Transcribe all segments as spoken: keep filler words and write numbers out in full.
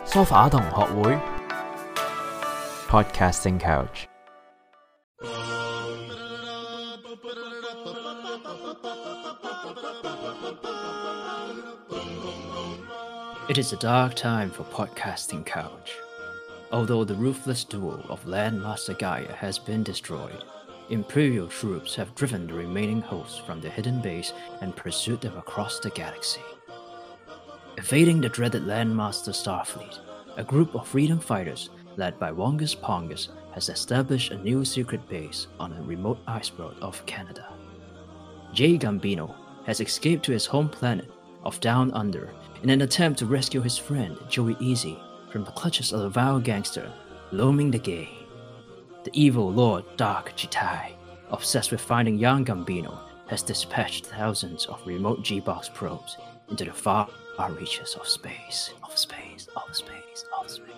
梳化同學會 Podcasting Couch。It is a dark time for Podcasting Couch. Although the ruthless duel of Landmaster Gaia has been destroyed, Imperial troops have driven the remaining hosts from their hidden base and pursued them across the galaxy. Evading the dreaded Landmaster Starfleet, a group of freedom fighters led by Wongus Pongus has established a new secret base on a remote iceberg of Canada. Jay Gambino has escaped to his home planet of Down Under in an attempt to rescue his friend Joey Easy from the clutches of the vile gangster Loming the Gay. The evil Lord Dark Jitai, obsessed with finding young Gambino, has dispatched thousands of remote G-Box probes into the far reaches of space, of space, of space, of space.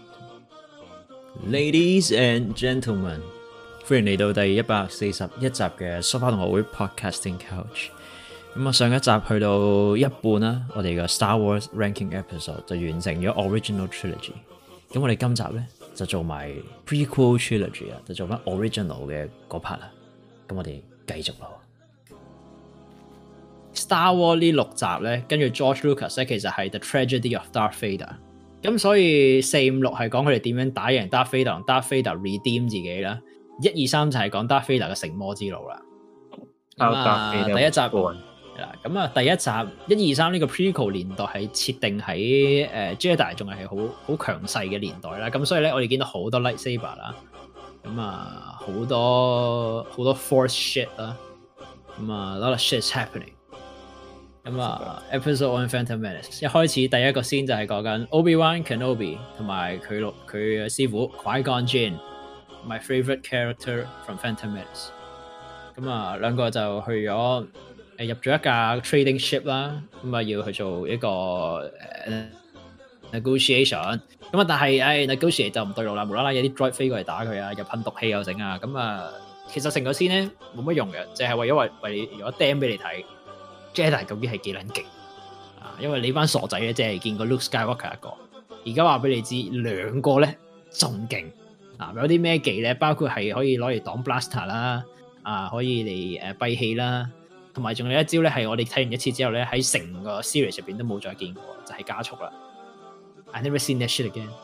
Ladies and gentlemen， 歡迎嚟到第一百四十一集嘅梳化同學會 Podcasting Couch。咁啊，上一集去到一半啦，我哋嘅 Star Wars Ranking Episode 就完成咗 Original Trilogy。咁我哋今集咧就做埋 Prequel Trilogy 啊，就做翻 Original 嘅嗰 part 啦。咁我哋繼續咯。Star Wars 呢六集咧，跟住 George Lucas 咧，其實係 The Tragedy of Darth Vader。咁所以四五六係講佢哋點樣打贏 Darth Vader 同 Darth Vader redeem 自己啦。一二三就係講 Darth Vader 嘅成魔之路啦。咁啊，第一集咁啊，第一集一二三呢個 Prequel 年代係設定喺誒、呃、Jedi 仲係好好強勢嘅年代啦。咁所以咧，我哋見到好多 lightsaber 啦，咁啊好多好多 Force shit 啦，咁啊 a lot of shit is happening。咁啊 ，Episode One Phantom Menace 一開始第一個先就係講緊 Obi-Wan Kenobi 同埋佢老佢嘅師傅 Qui-Gon Jinn，my favourite character from Phantom Menace。咁啊，兩個就去咗誒入咗一架 trading ship 啦，咁啊要去做一個誒、uh, negotiation。咁啊，但係誒 negotiate 就唔對路啦，無啦啦有啲 droid 飛過嚟打佢啊，又噴毒氣又整啊，咁啊，其實成個 scene 咧冇乜用嘅，就係、是、為咗為為如果 demo 俾你睇。Jedi 究竟係幾撚勁啊？因為你班傻仔咧，即係見過 Luke Skywalker 一個，而家話俾你知兩個咧仲勁啊！有啲咩技咧？包括係可以攞嚟擋 blaster 啦，啊可以嚟誒閉氣啦，同埋仲有一招咧係我哋睇完一次之後咧喺成個 series 入邊都冇再見過，就係、是、加速啦。I never seen that shit again.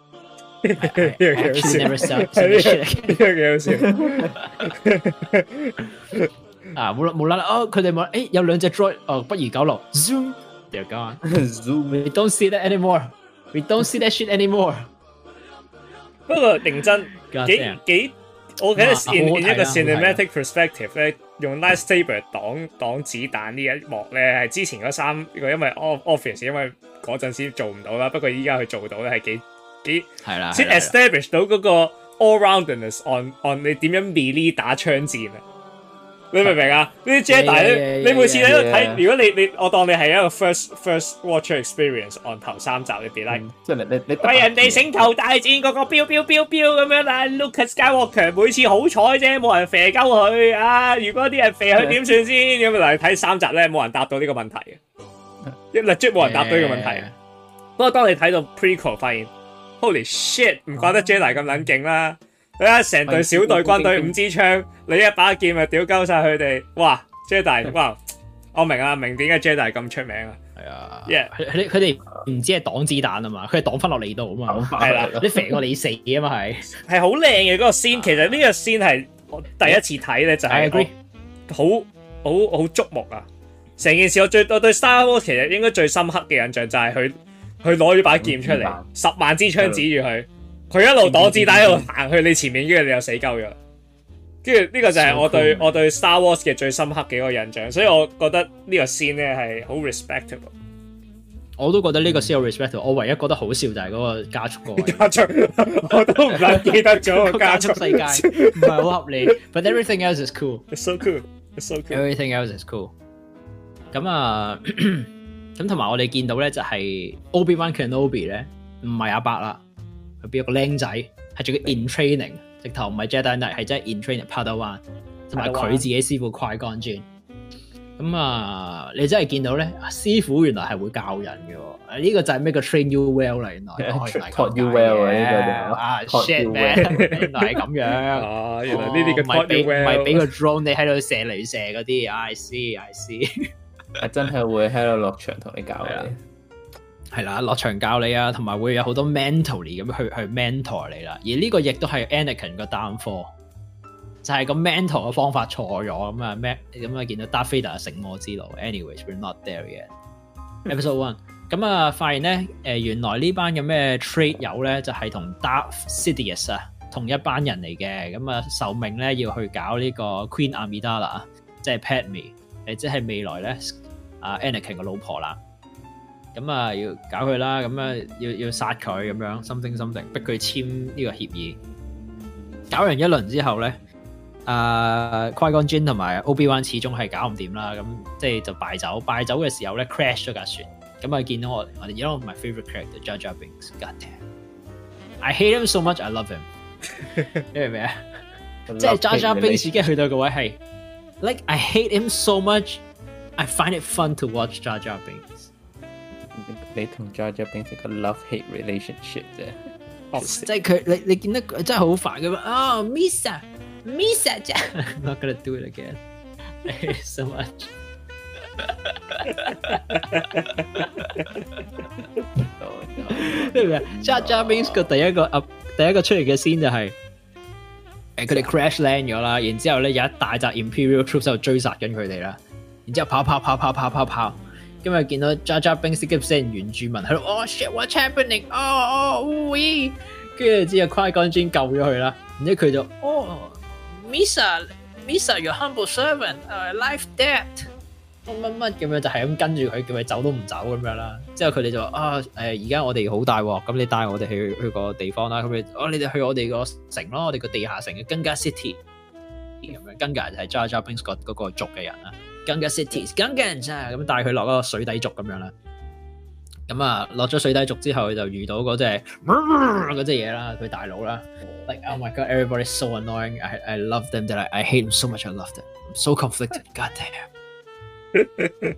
I, I actually never seen that shit again. 啊冇冇啦啦哦！佢哋話誒有兩隻 droid 哦，不如九六 zoom they're gone zoom we don't see that anymore we don't see that shit anymore。 不過認真幾幾，我覺得 in in 一個 cinematic perspective 咧，用 lightsaber 擋擋子彈呢一幕咧，係之前嗰三個因為 obvious 因為嗰陣時做唔到啦，不過依家佢做到咧係幾幾係啦，先 establish 到嗰個 all roundedness on on 你點樣 melee 打槍戰啊！你明唔明啊？呢啲 Jedi 咧，你每次喺度睇，如果你你我當你係一個 first first watcher experience on 頭三集你 be like，即係你你你為人哋星球大戰嗰個飆飆飆飆咁樣啦 ，Luke Skywalker 每次好彩啫，冇人射鳩佢啊！如果啲人射佢點算先？咁嚟睇三集咧，冇人答到呢個問題嘅，一 legit 冇人答到呢個問題嘅。不過當你睇到 prequel 發現 ，Holy shit， 唔怪得 Jedi 咁撚勁啦！你睇成隊小隊軍隊五支槍，你一把劍咪屌鳩晒佢哋，哇 Jedi， 哇！我明啊，明點解 Jedi 咁出名啊？係啊 ，yeah， 佢佢哋唔止係擋子彈啊嘛，佢係擋翻落你度啊嘛，係啦，你射過你死啊嘛係，係好靚嘅嗰個 scene，其實呢個 scene 係我第一次睇咧就係好好好觸目啊！成件事我最我對 Star Wars 其實應該最深刻嘅印象就係佢佢攞咗把劍出嚟，十萬支槍指住佢。佢一路擋子彈一路行去你前面，跟住你又死鳩咗。跟住呢個就係我對、so cool. 我對 Star Wars 嘅最深刻嘅一個印象，所以我覺得呢個 scene 咧係好 respectable。我都覺得呢個先有 respectable。我唯一覺得好笑就係嗰個加速個位。加速，我都唔撚記得咗個加速世界，唔係好合理。But everything else is cool. It's so cool. It's so cool. Everything else is cool. 咁啊，咁同埋我哋見到咧就係 Obi-Wan Kenobi 咧，唔係阿伯啦。佢變一個僆仔，係仲要 in training， 直頭唔係 Jedi Knight， 係真係 in training Padawan， 同埋佢自己師傅 Qui-Gon Jinn。 咁啊，你真係見到咧，師傅原來係會教人嘅喎。呢個就係咩個 train you well 啦，原來。 taught you well 啊，呢個啊 shit man，原來係咁樣。 哦，原來呢啲嘅 taught you well， 唔係俾個 drone 你喺度射嚟射嗰啲。I see I see。 係真係會喺度落場同你教你。 係啦，落場教你啊，同埋會有好多 mentally 咁去去 mentor 你啦。而呢個亦都係 Anakin 個 downfall。就係個 mentor 嘅方法錯咗咁啊咩咁啊見到 Darth Vader 成魔之路 anyways we're not there yet episode one 咁啊發現咧誒、呃、原來呢班嘅咩 trade 友咧就係、是、同 Darth Sidious 啊同一班人嚟嘅咁啊受命咧要去搞呢個 Queen Amidala 即係 Padme 誒即係未來咧啊 Anakin 嘅老婆啦咁啊要搞佢啦咁啊要要殺佢咁樣 something something 逼佢簽呢個協議搞完一輪之後咧啊 Qui-Gon Jinn 同埋 Obi-Wan 始終係搞唔掂啦，咁即係就敗走，敗走嘅時候咧 crash 咗架船，咁啊見到我我哋 you know my favorite character Jar Jar Binks God damn I hate him so much I love him 你明唔明啊？即係 Jar Jar Binks 已經去到個位係 like I hate him so much I find it fun to watch Jar Jar Binks 你同 Jar Jar Binks 係個 love hate relationship 啫， 即係佢你你見得佢真係好煩㗎嘛哦 Misa Misa I'm not gonna do it again. I hate it so much. 你明唔明 ？Jar Jar Binks 個第一個啊，第一個出嚟嘅 scene 就係誒佢哋 crash land 咗啦，然之後咧有一大紮 Imperial troops 喺度追殺緊佢哋啦，然之後跑跑跑跑跑跑跑，今日見到 Jar Jar Binks 啲成原住民喺度，oh shit what's happening？ 哦哦喂，跟住之後 Qui-Gon Jinn 救咗佢啦，然之後佢就哦。Misa, Misa, your humble servant, uh, life debt，乜乜乜咁樣就係咁跟住佢，叫佢走都唔走咁樣啦。之後佢哋就話啊，誒而家我哋好大鑊，咁你帶我哋去去個地方啦。咁你哦，你哋去我哋個城咯，我哋個地下城嘅 Gunga City 咁樣。Gunga 就係 Jar Jar Binks 嗰嗰個族嘅人啦。Gunga City，Gunga 人咋咁帶佢落嗰個水底族咁樣啦。咁啊，落咗水底族之後，佢就遇到嗰隻嗰隻嘢啦，佢大佬啦。Like oh my god, everybody's so annoying. I I love them, that I I hate them so much. I love them. I'm so conflicted. God damn.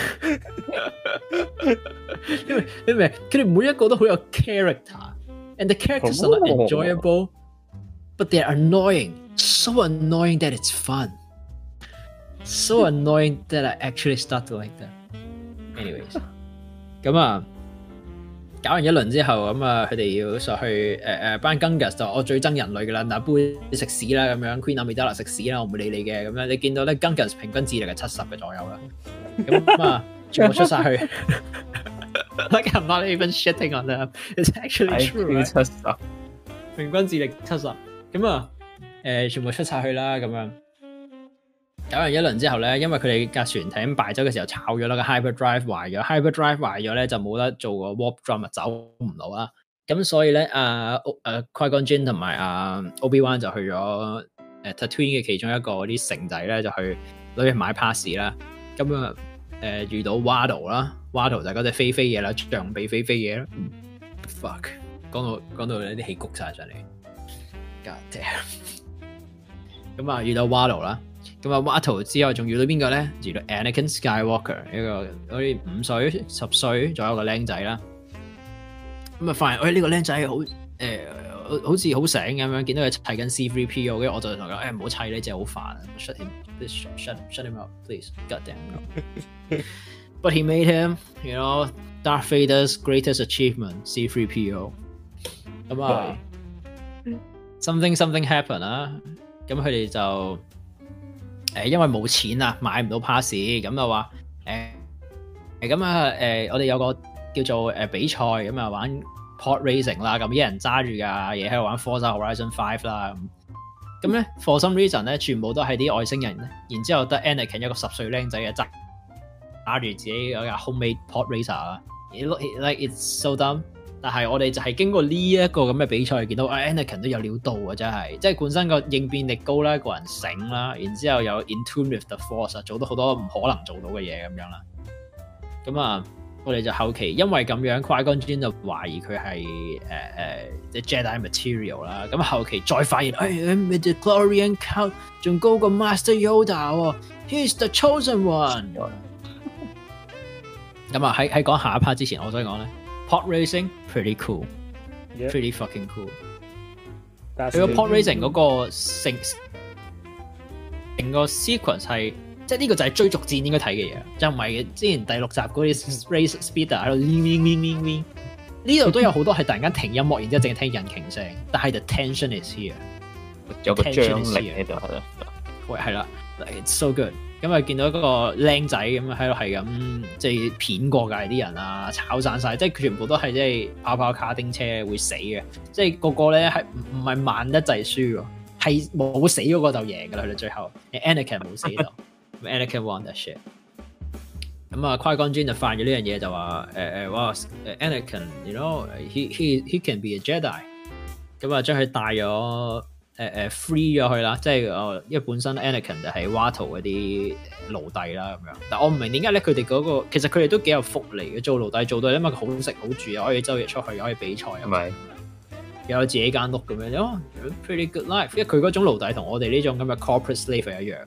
因為你明，佢哋每一個都好有 character, and the characters are not enjoyable, but they're annoying. So annoying that it's fun. So annoying that I actually start to like them. Anyways. 咁啊，搞完一輪之後，咁啊，佢哋要上去誒誒班 Gungas 就我最憎人類噶啦，嗱杯食屎啦咁樣 ，Queen Amidala 食屎啦，我唔會理你嘅咁樣。你見到咧 Gungas 平均智力係七十嘅左右啦，咁啊全部出晒去。Like I'm not even shitting on them. It's actually true. 七十， 平均智力七十，咁啊誒全部出晒去啦咁樣。搞完一輪之後咧，因為佢哋架船艇敗走嘅時候炒咗啦，個 hyperdrive 壞咗 ，hyperdrive 壞咗咧就冇得做個 warp drum 走唔到啦。咁所以咧，啊誒 Qui-Gon Jinn 同埋啊 Obi-Wan 就去咗誒 Tatooine 嘅其中一個嗰啲城仔咧，就去攞去買 pass 啦。咁啊誒遇到 Watto 啦 ，Watto 就係嗰隻飛飛嘢啦，象鼻飛飛嘢啦。Fuck， 講到講到有啲氣谷晒上嚟 ，God damn。咁啊遇到 Watto 啦。咁啊 Watto 之後仲遇到邊個咧？遇到 Anakin Skywalker 一個好似五歲、十歲左右嘅僆仔啦。咁啊發現，喂呢個僆仔好誒，好似好醒咁樣，見到佢砌緊 C 三 P O， 跟住我就同佢誒唔好砌呢隻好煩 ，shut him，shut shut shut him up，please，god damn。But he made him, you know, Darth Vader's greatest achievement, C 三 P O。咁啊，something something happen 啊，咁佢哋就。誒，因為冇錢啊，買唔到 pass， 咁就話誒，咁啊誒，我哋有個叫做誒比賽，咁啊玩 pod racing 啦，咁一人揸住架嘢喺度玩 Forza Horizon Five 啦，咁咁咧 for some reason 咧，全部都係啲外星人，然之後得 Anakin 一個十歲僆仔嘅揸揸住自己嗰架 homemade pod racer 啊 ，it look like it's so dumb。但係我哋就係經過呢一個咁嘅比賽，見到啊 Anakin 都有料到啊，真係，即係本身個應變力高啦，個人醒啦，然之後有 in tune with the force，做到好多唔可能做到嘅嘢咁樣啦。咁啊， 我哋就後期因為咁樣 Qui-Gon Jinn 就懷疑佢係誒誒即係 Jedi material 啦。咁後期再發現，誒 midichlorian count 仲高過 Master Yoda 喎 ，He's the chosen one。咁啊喺喺講下一 part 之前，我想講咧 ，Pod Racing pretty cool，pretty fucking cool。佢個 Pod Racing 嗰個成成個 sequence 係。即係呢個就係追逐戰應該睇嘅嘢，就唔係之前第六集嗰啲 race speeder 喺度 wing wing wing wing wing。呢度都有好多係突然間停音樂，然之後淨係聽引擎聲，但係 the tension is here， 有個張力喺度係啦。 喂，係啦 ，it's so good。咁啊，見到嗰個僆仔咁喺度係咁，即係片過界啲人啊，炒散晒，即係佢全部都係即係跑跑卡丁車會死嘅，即係個個咧係唔唔係慢得滯輸喎，係冇死嗰個就贏㗎啦，去到最後 ，Anakin 冇死到。Anakin won that shit。咁啊，Qui-Gon Jinn就犯咗呢樣嘢，就話誒誒，哇，Anakin，you know，he he he can be a Jedi。咁啊，將佢帶咗誒誒 free 咗佢啦，即係誒，因為本身 Anakin 就係 Watto 嗰啲奴隸啦咁樣。但我唔明點解咧，佢哋嗰個其實佢哋都幾有福利嘅，做奴隸做到，因為佢好食好住，又可以周日出去，又可以比賽，係咪？又有自己間屋咁樣，哦 ，pretty good life。因為佢嗰種奴隸同我哋呢種咁嘅 corporate slave 係一樣。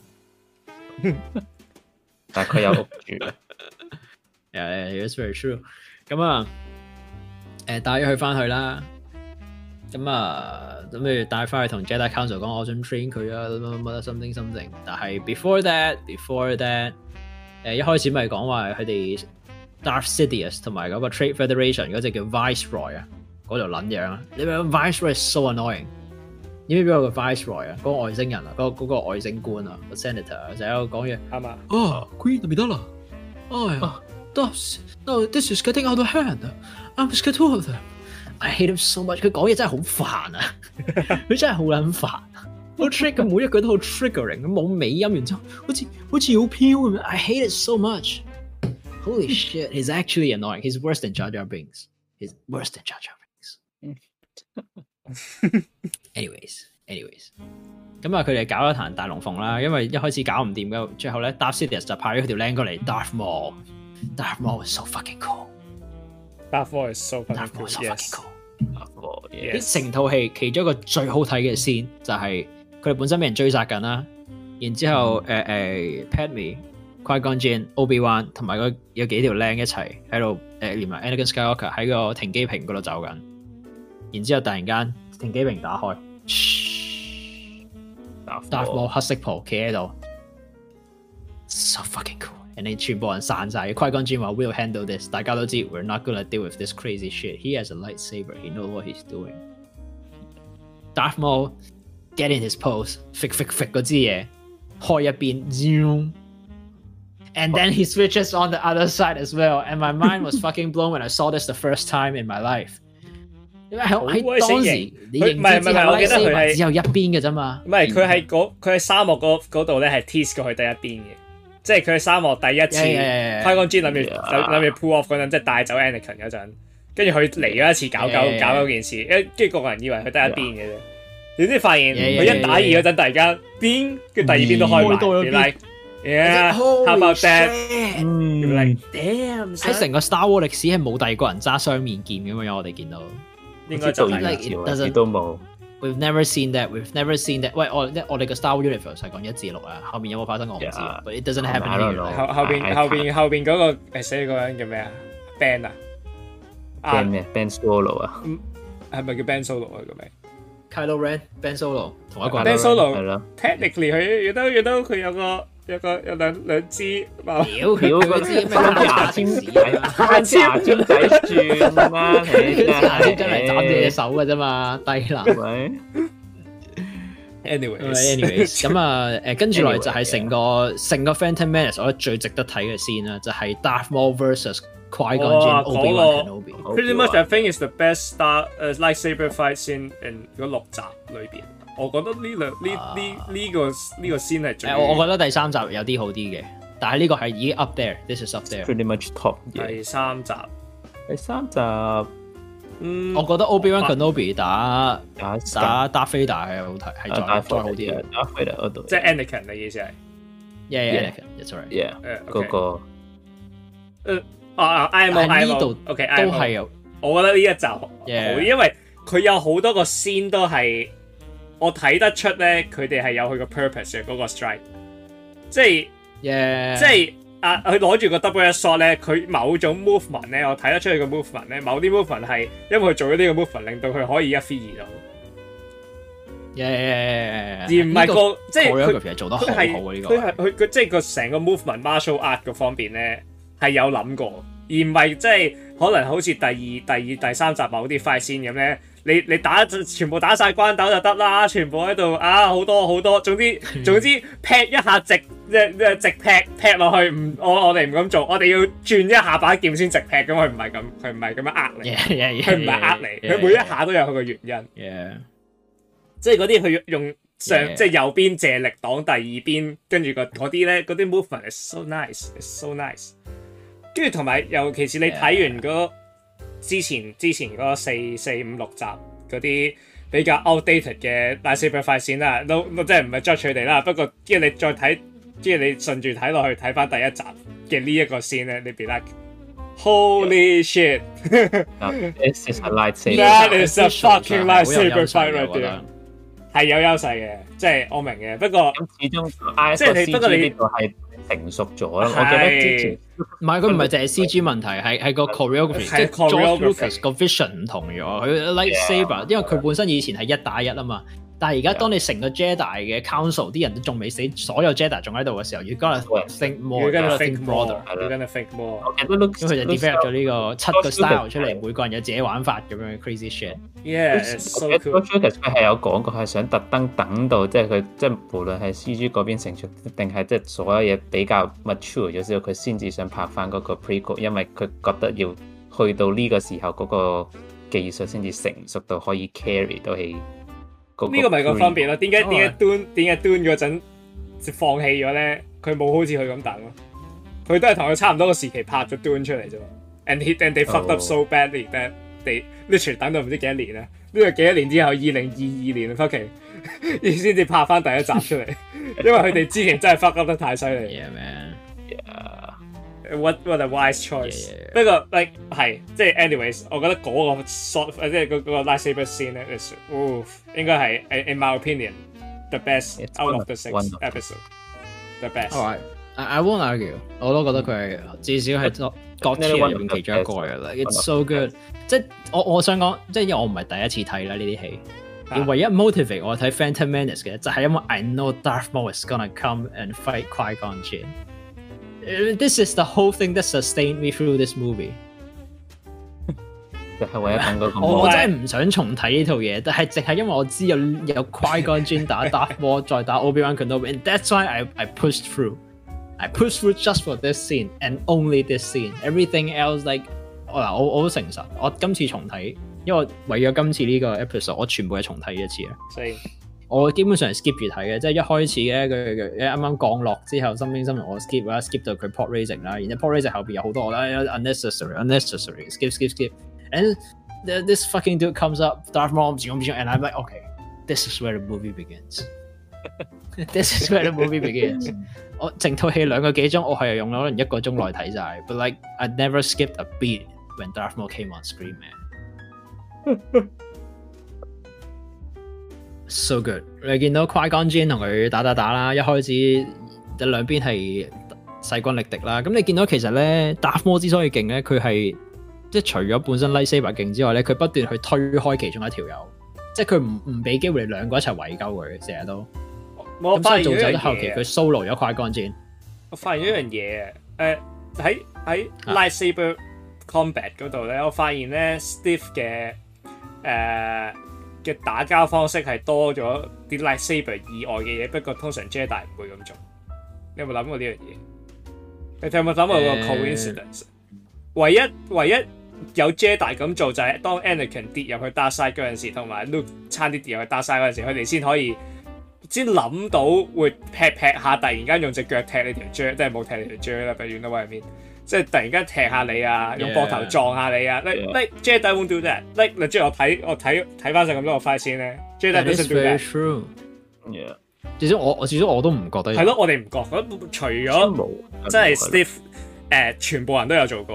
但係佢有屋住 ，yeah, it's very true。咁啊，誒帶咗佢翻去啦，咁啊，咁不如帶翻去同 Jedi Council 講，我想 train 佢啊，乜乜乜 something something。但係 before that，before that， 誒一開始咪講話佢哋 Darth Sidious 同埋嗰個 Trade Federation 嗰隻叫 Viceroy 啊，嗰條撚樣啊，你話 Viceroy is so annoying。你知唔知邊個 Viceroy 啊？嗰個外星人啊，嗰、嗰個嗰個外星官啊，個 Senator 啊，就喺度講嘢。 啱嘛？ 啊 ，Queen 就咪得啦。哎呀 ，This no this is getting out of hand. I'm scared of them. I hate him so much. 佢講嘢真係好煩啊！佢真係好撚煩。好 trick 嘅每一句都好 triggering，冇尾音，然之後好似好似好飄咁樣。I hate it so much. Holy shit! He's actually annoying. He's worse than Jar Jar Binks. He's worse than Jar Jar Binks.anyways，anyways， 咁啊，佢哋搞咗壇大龍鳳啦，因為一開始搞唔掂嘅，最後咧 Darth Sidious 就派咗佢條靚過嚟 Darth Maul。Darth Maul is so fucking cool。Darth Maul is so fucking cool。Darth Maul，yes。成套戲其中一個最好睇嘅 scene 就係佢哋本身俾人追殺緊啦，然之後誒誒 Padme、Qui-Gon Jinn、Obi-Wan 同埋嗰有幾條靚一齊喺度誒，連埋 Anakin Skywalker 喺個停機坪嗰度走緊。然之後突然間停機坪打開 Darth Maul 黑色袍企喺度 ，so fucking cool。and 你全部人散晒 Qui-Gon Jinn 話 We'll handle this， 大家都知 We're not gonna deal with this crazy shit。He has a lightsaber，he knows what he's doing。Darth Maul get in his pose，flick flick flick 嗰支嘢開一邊 ，zoom，and then he switches on the other side as well。and my mind was fucking blown when I saw this the first time in my life。因為喺當時你認知之後，我記得佢係只有一邊嘅啫嘛。 唔係佢係嗰佢喺沙漠嗰度咧係 tease 過去第一邊嘅，即係佢喺沙漠第一次 Qui-Gon Jinn 諗住諗住 pull off 嗰陣，即係帶走 Anakin 嗰陣，跟住佢嚟咗一次搞搞搞嗰件事，跟住個個人以為佢得一邊嘅啫，點知發現佢一打二嗰陣，突然間邊跟住第二邊都開埋，原來 yeah，how about that？ like damn， 喺成個 Star Wars 歷史係冇第二個人揸雙面劍咁樣，我哋見到。 應該就係都冇。 We've never seen that. We've never seen that. 喂，我我哋個 Star Wars Universe 係講一至六啊，後面有冇發生我唔知。 Yeah. But it doesn't happen here. 後後邊後邊後邊嗰個誒死嗰個人叫咩啊 ？Ben 啊 ？Ben 咩 ？Ben Solo 啊？ 係咪叫 Ben Solo 啊？個名 ？Kylo Ren、Ben Solo 同一個。 Ben Solo 係咯。Technically 佢亦都亦都佢有個。有個有兩兩支， 屌屌嗰支咩牙籤仔， 牙籤仔轉啦，你牙籤仔嚟斬你隻手嘅啫嘛，低能。 Anyways，anyways， 咁啊誒，跟住落嚟就係成個成個 Phantom Menace，我覺得最值得睇嘅先啦，就係 Darth Maul versus Qui-Gon Jinn、Obi-Wan Kenobi。 Pretty much I think is the best Star 誒 lightsaber fight scene in 嗰六集裏邊。我覺得呢兩呢呢呢個呢個先係最。 誒，我覺得第三集有啲好啲嘅，但係呢個係已經 up there，this is up there。Pretty much top。 第三集， 第三集， 嗯， 我覺得 Obi-Wan Kenobi 打打打 Darth Vader 係好睇，係再再好啲嘅。 Darth Vader 嗰度， 即係 Anakin 嘅意思係。 Yeah, Anakin，that's right。 Yeah，嗰個。 誒， 啊 I M O I M O 呢度 OK 都係有， 我覺得呢一集好，yeah. 因為佢有好多個 scene 都係我睇得出咧，佢哋係有佢個 purpose 嘅嗰個 strike， 即係，yeah. 即係啊，佢攞住個 double shot 咧，佢某種 movement 咧，我睇得出佢個 movement 咧，某啲 movement 係因為佢做咗呢個 movement， 令到佢可以一 feed 二到。 Yeah, yeah, yeah, yeah. 而唔係個即係佢係做得好好嘅呢個， 佢係佢佢即係個成個 movement martial art 嗰方面咧係有諗過，而唔係即係可能好似第二、第二、第三集某啲 fight scene 咁咧，你你打全部打晒關斗就得啦，全部喺度啊好多好多，總之總之劈一下直即係直劈劈落去，唔我我哋唔咁做，我哋要轉一下把劍先直劈，咁佢唔係咁，佢唔係咁樣呃你，佢唔係呃你，佢每一下都有佢個原因。 Yeah. 即係嗰啲佢用上 yeah. 即係右邊借力擋第二邊，跟住個嗰啲咧嗰啲 movement is so nice, is so nice。跟住同埋尤其是你睇完嗰、那個、之前之前嗰四四五六集嗰啲比較 outdated 嘅 lightsaber fight scene 啦，都即係唔係 judge 佢哋啦。不過跟住你再睇，跟住你順住睇落去睇翻第一集嘅呢一個 scene 咧，你 be like holy shit！ This is a lightsaber. That is a fucking lightsaber fight right there。係有優勢嘅，即係我明嘅。不過咁始終即係你不過你呢度係成熟咗咯。我記得之前唔係佢唔係淨係 C G 問題，係係個 choreography，即係 George Lucas 個 vision 唔同咗。佢 lightsaber， 因為佢本身以前係一打一啊嘛。但係而家當你成個 Jedi 嘅 Council 啲人都仲未死，所有 Jedi 仲喺度嘅時候，要 gonna think more， 要 gonna think more， 要 gonna think more。 咁佢就 develop 咗呢個七個 style 出嚟，每個人有自己玩法咁樣 crazy shit。 Yeah，so cool。 佢係有講過係想特登等到即係佢即係無論係 C G 嗰邊成熟，定係即係所有嘢比較 mature 咗之後，佢先至想拍翻嗰個 prequel， 因為佢覺得要去到呢個時候嗰個技術先至成熟到可以 carry 到起。 呢個咪個分別咯？點解點解 Dune 點解 Dune 嗰陣放棄咗咧？佢冇好似佢咁等咯，佢都係同佢差唔多個時期拍咗 Dune 出嚟啫嘛。And he and they fucked up so badly that they literally 等到唔知幾多年啦。呢個幾多年之後，二零二二年 fucking 先至拍翻第一集出嚟，因為佢哋之前真係 fuck up 得太犀利。 Yeah man. Yeah. What what a wise choice. Yeah. 不過 like 係即係 anyways， 我覺得嗰個 shot 即係嗰個 lightsaber scene 咧 is oof 應該係 in my opinion the best It's out of the six episode the best。 Alright, I won't argue， 我都覺得佢係至少係 God tier 入面其中一個嘅啦。It's so good， 即係我我想講，即係因為我唔係第一次睇啦呢啲戲。而唯一 motivate 我睇 Phantom Menace 嘅就係因為 I know Darth Maul is gonna come and fight Qui-Gon Jinn。This is the whole thing that sustained me through this movie。 就係為咗等嗰個。 我真係唔想重睇呢套嘢，但係淨係因為我知有有 Qui-Gon Jinn 打 Darth Maul 再打 Obi-Wan Kenobi，and that's why I I pushed through。I pushed through just for this scene and only this scene. Everything else like 嗱我我好誠實，我今次重睇，因為為咗今次呢個 episode， 我全部係重睇一次啊。所以我基本上係 skip 住睇嘅，即係一開始咧佢佢啱啱降落之後，身邊新聞我 skip 啦 ，skip 到佢 pod raising 啦，然後 pod raising 後邊有好多啦 unnecessary unnecessary skip skip skip and this fucking dude comes up Darth Maul and I'm like okay this is where the movie begins this is where the movie begins 我整套戲兩個幾鐘，我係用咗可能一個鐘內睇晒 ，but like I never skipped a beat when Darth Maul came on screen man so good。你見到 Qui-Gon Jinn 同佢打打打啦，一開始兩邊係勢均力敵啦。咁你見到其實咧 Darth Maul 之所以勁咧，佢係即係除咗本身 lightsaber 勁之外咧，佢不斷去推開其中一條友，即係佢唔唔俾機會你兩個一齊圍鳩佢，成日都。咁所以做走到後期，佢 solo 咗 Qui-Gon Jinn。我發現一樣嘢， 誒喺喺 lightsaber combat 嗰度咧，我發現咧 Steve 嘅誒嘅打交方式係多咗啲 lightsaber 以外嘅嘢，不過通常 Jedi 唔會咁做。你有冇諗過呢樣嘢？你有冇諗過個 coincidence？、呃、唯一唯一有 Jedi 咁做就係當 Anakin 跌入去 Dark Side 嗰陣時，同埋 Luke 差啲跌入去 Dark Side 嗰陣時，佢哋先可以。先諗到會劈劈下，突然間用隻腳踢你條蕉，即係冇踢你條蕉啦，不遠啦位入面，即係突然間踢下你啊，用膊頭撞下你啊 ，like like Jedi won't do that，like 你即係我睇我睇睇翻晒咁多個 fight 先咧 ，Jedi doesn't do that。True. Yeah. 至少我至少我都唔覺得。係咯，我哋唔覺，除咗即係 Steve 誒、呃，全部人都有做過，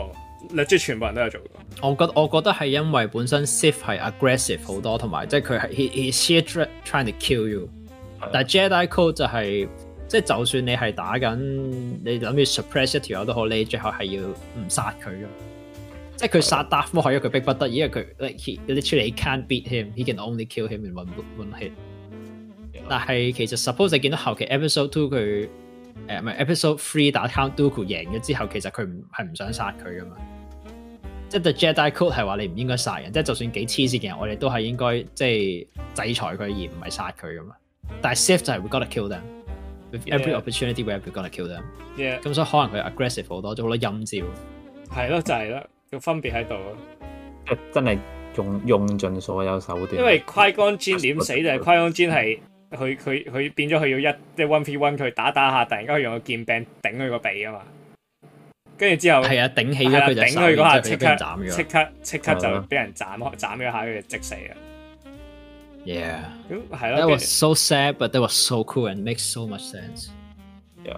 legit 全部人都有做過。 我覺我覺得係因為本身 Sith 係 aggressive 好多，同埋即係佢係 he he's here trying to kill you，但係 Jedi Code 就係、是、即係就算你係打緊，你諗住 suppress 一條友都好，你最後係要唔殺佢咯。即係佢殺 Darth Maul 係因為佢逼不得已，因為佢 like he literally can't beat him，he can only kill him in one one hit。Yeah. 但係其實 suppose 你見到後期 Episode Two 佢誒唔係 Episode Three 打 Count Dooku 贏咗之後，其實佢唔係唔想殺佢噶嘛。即係 The Jedi Code 係話你唔應該殺人，即係就算幾黐線嘅人，我哋都係應該即係制裁佢而唔係殺佢噶嘛。但係 Sith 就係 we gotta kill them，with every opportunity we gotta kill them。 咁、 yeah. 所以可能佢 aggressive 好多，做好多陰招。係咯，就係、是、咯，個分別喺度咯。 即係真係用用盡所有手段。 因為 Qui-Gon Jinn 點死就係 Qui-Gon Jinn 係佢佢佢變咗佢要一即係 one v one 佢打打下，突然間佢用個劍柄頂佢個鼻啊嘛。跟住之後係啊，頂起咗佢就頂佢嗰下，即刻斬即刻即刻就俾人斬開斬咗下，佢就即死啊！ Yeah， 咁係咯。 That was so sad, but that was so cool and makes so much sense. Yeah，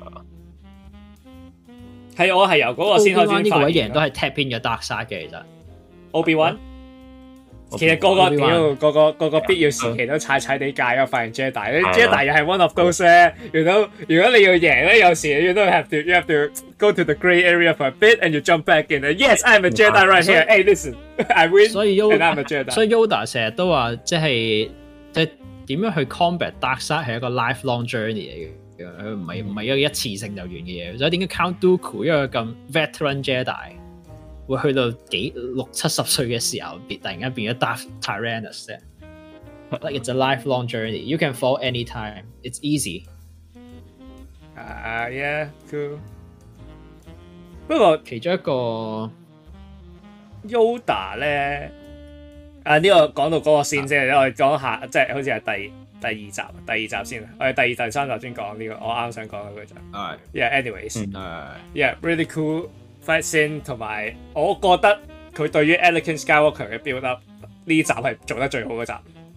係我係由嗰個先開始發現。 呢個位嘅人都係 tap in 咗 Dark Side 嘅，其實 Obi-Wan。其實個個屌個個個個必要時期都踩踩地界啊！發現 Jedi，Jedi 又係 one of those 咧。如果如果你要贏咧，有時你都 have to you have to go to the grey area for a bit and you jump back in. Yes, I'm a Jedi right here. Hey, listen, I win. 所以 Yoda, I'm a Jedi. 所以 Yoda 成日都話，即係即係點樣去 combat Dark Side 係一個 lifelong journey 嚟嘅，佢唔係唔係一個一次性就完嘅嘢。所以點解 Count Dooku 一個咁 veteran Jedi？會去到幾六七十歲嘅時候，突然間變咗 Darth Tyrannus 啫。Like it's a lifelong journey. You can fall anytime. It's easy. 啊、uh, ，yeah, cool。不過其中一個 Yoda 咧，啊呢、這個講到嗰個先先，我哋講下，即係好似係第第二集，第二集先。我哋第二、第三集先講呢個，我啱想講嘅就。 係。 Yeah, anyways. 係。 Yeah, really cool. Fight scene 同埋，我覺得佢對於 Anakin Skywalker 嘅 build up 呢集係做得最好嗰集。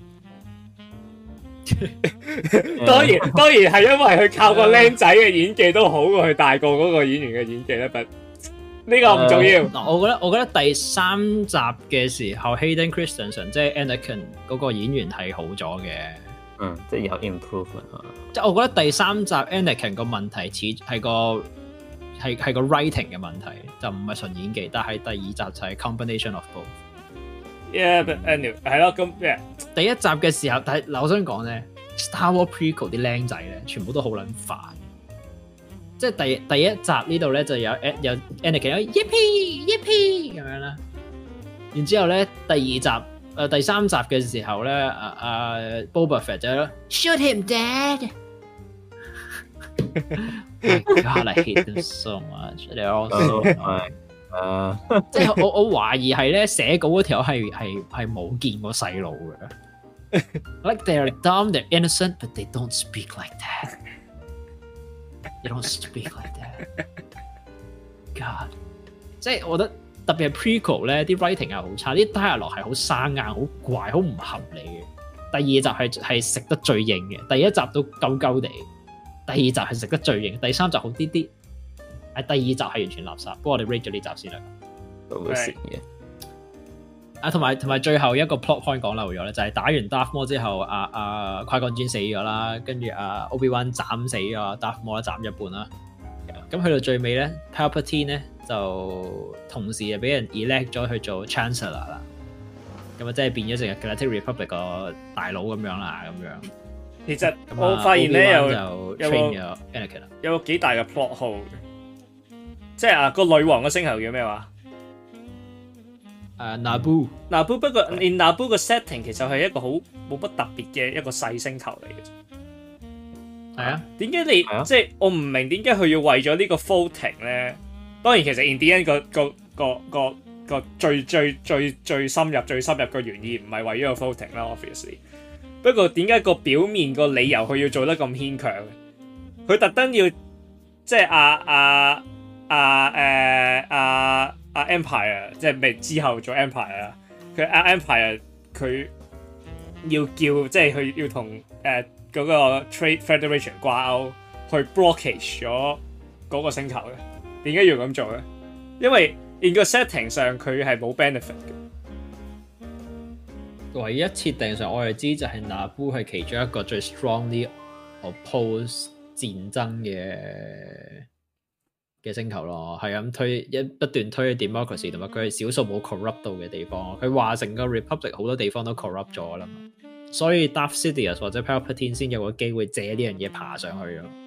當然當然係因為佢靠個僆仔嘅演技都好過佢大個嗰個演員嘅演技咧，但呢個唔重要。 嗱，我覺得我覺得第三集嘅時候 Hayden Christensen 即係 Anakin 嗰個演員係好咗嘅， 嗯，即係有 improvement。 即係我覺得第三集 Anakin 個問題似係個。係係個 writing 嘅問題，就唔係純演技，但係第二集就係 combination of both。 Yeah, but anyway，係咯，咁 yeah。第一集嘅時候，但係嗱，我想講咧 ，Star Wars Prequel 啲僆仔咧，全部都好撚煩。即係第第一集呢度咧就有有 Anakin 有 Yippee Yippee 咁樣啦，然之後咧第二集誒、呃、第三集嘅時候咧，啊啊 Boba Fett 就咯 Shoot him, Dad。God, I hate them so much. They're all so annoying. 誒，即係我我懷疑係咧寫稿嗰條係係係冇見過細路嘅。Like they're dumb, they're innocent, but they don't speak like that. They don't speak like that. God， 即係我覺得特別係 prequel 咧，啲 writing 係好差，啲 dialogue 係好生硬、好怪、好唔合理嘅。第二集係係食得最硬嘅，第一集都鳩鳩地。第二集係食得最型，第三集好啲啲，係第二集係完全垃圾。不過我哋 rate 咗呢集先啦。 都會食嘅。 啊，同埋同埋最後一個 plot point 講漏咗咧，就係、是、打完 Darth Maul 之後，阿阿 Qui-Gon Jinn 死咗啦，跟住阿 Obi-Wan 斬死咗 Darth Maul 斬一半啦。咁去到最尾咧 ，Palpatine 咧就同時就俾人 elect 咗去做 Chancellor 啦。咁啊，即係變咗成個 Galactic Republic 個大佬咁樣啦，咁樣。 其實我發現咧有有有個有個幾大嘅 plot hole，即係啊個女王嘅星球叫咩話？ 誒 Naboo Naboo 不過 in Naboo 個 setting 其實係一個好冇乜特別嘅一個細星球嚟嘅啫。 係啊， 點解你、啊、即係我唔明點解佢要為咗呢個 voting 咧？當然其實 in the end 個個個個個最最最最深入最深入嘅原意唔係為咗個 voting 啦 ，obviously。不過點解個表面個理由佢要做得咁牽強？佢特登要即係啊啊啊誒啊啊 Empire， 即係未之後做 Empire 啊。佢啊 Empire 佢要叫即係佢要同誒嗰個 Trade Federation 掛鈎，去 blockage 咗嗰個星球嘅。點解要咁做咧？因為 in 個 setting 上佢係冇 benefit 嘅。 唯一設定上我哋知就係 Naboo 係其中一個最 strongly oppose 戰爭嘅嘅星球咯，係咁推一不斷推 democracy， 同埋佢係少數冇 corrupt 到嘅地方。佢話成個 republic 好多地方都 corrupt 咗啦嘛，所以 Darth Sidious 或者 Palpatine 先有個機會借呢樣嘢爬上去咯。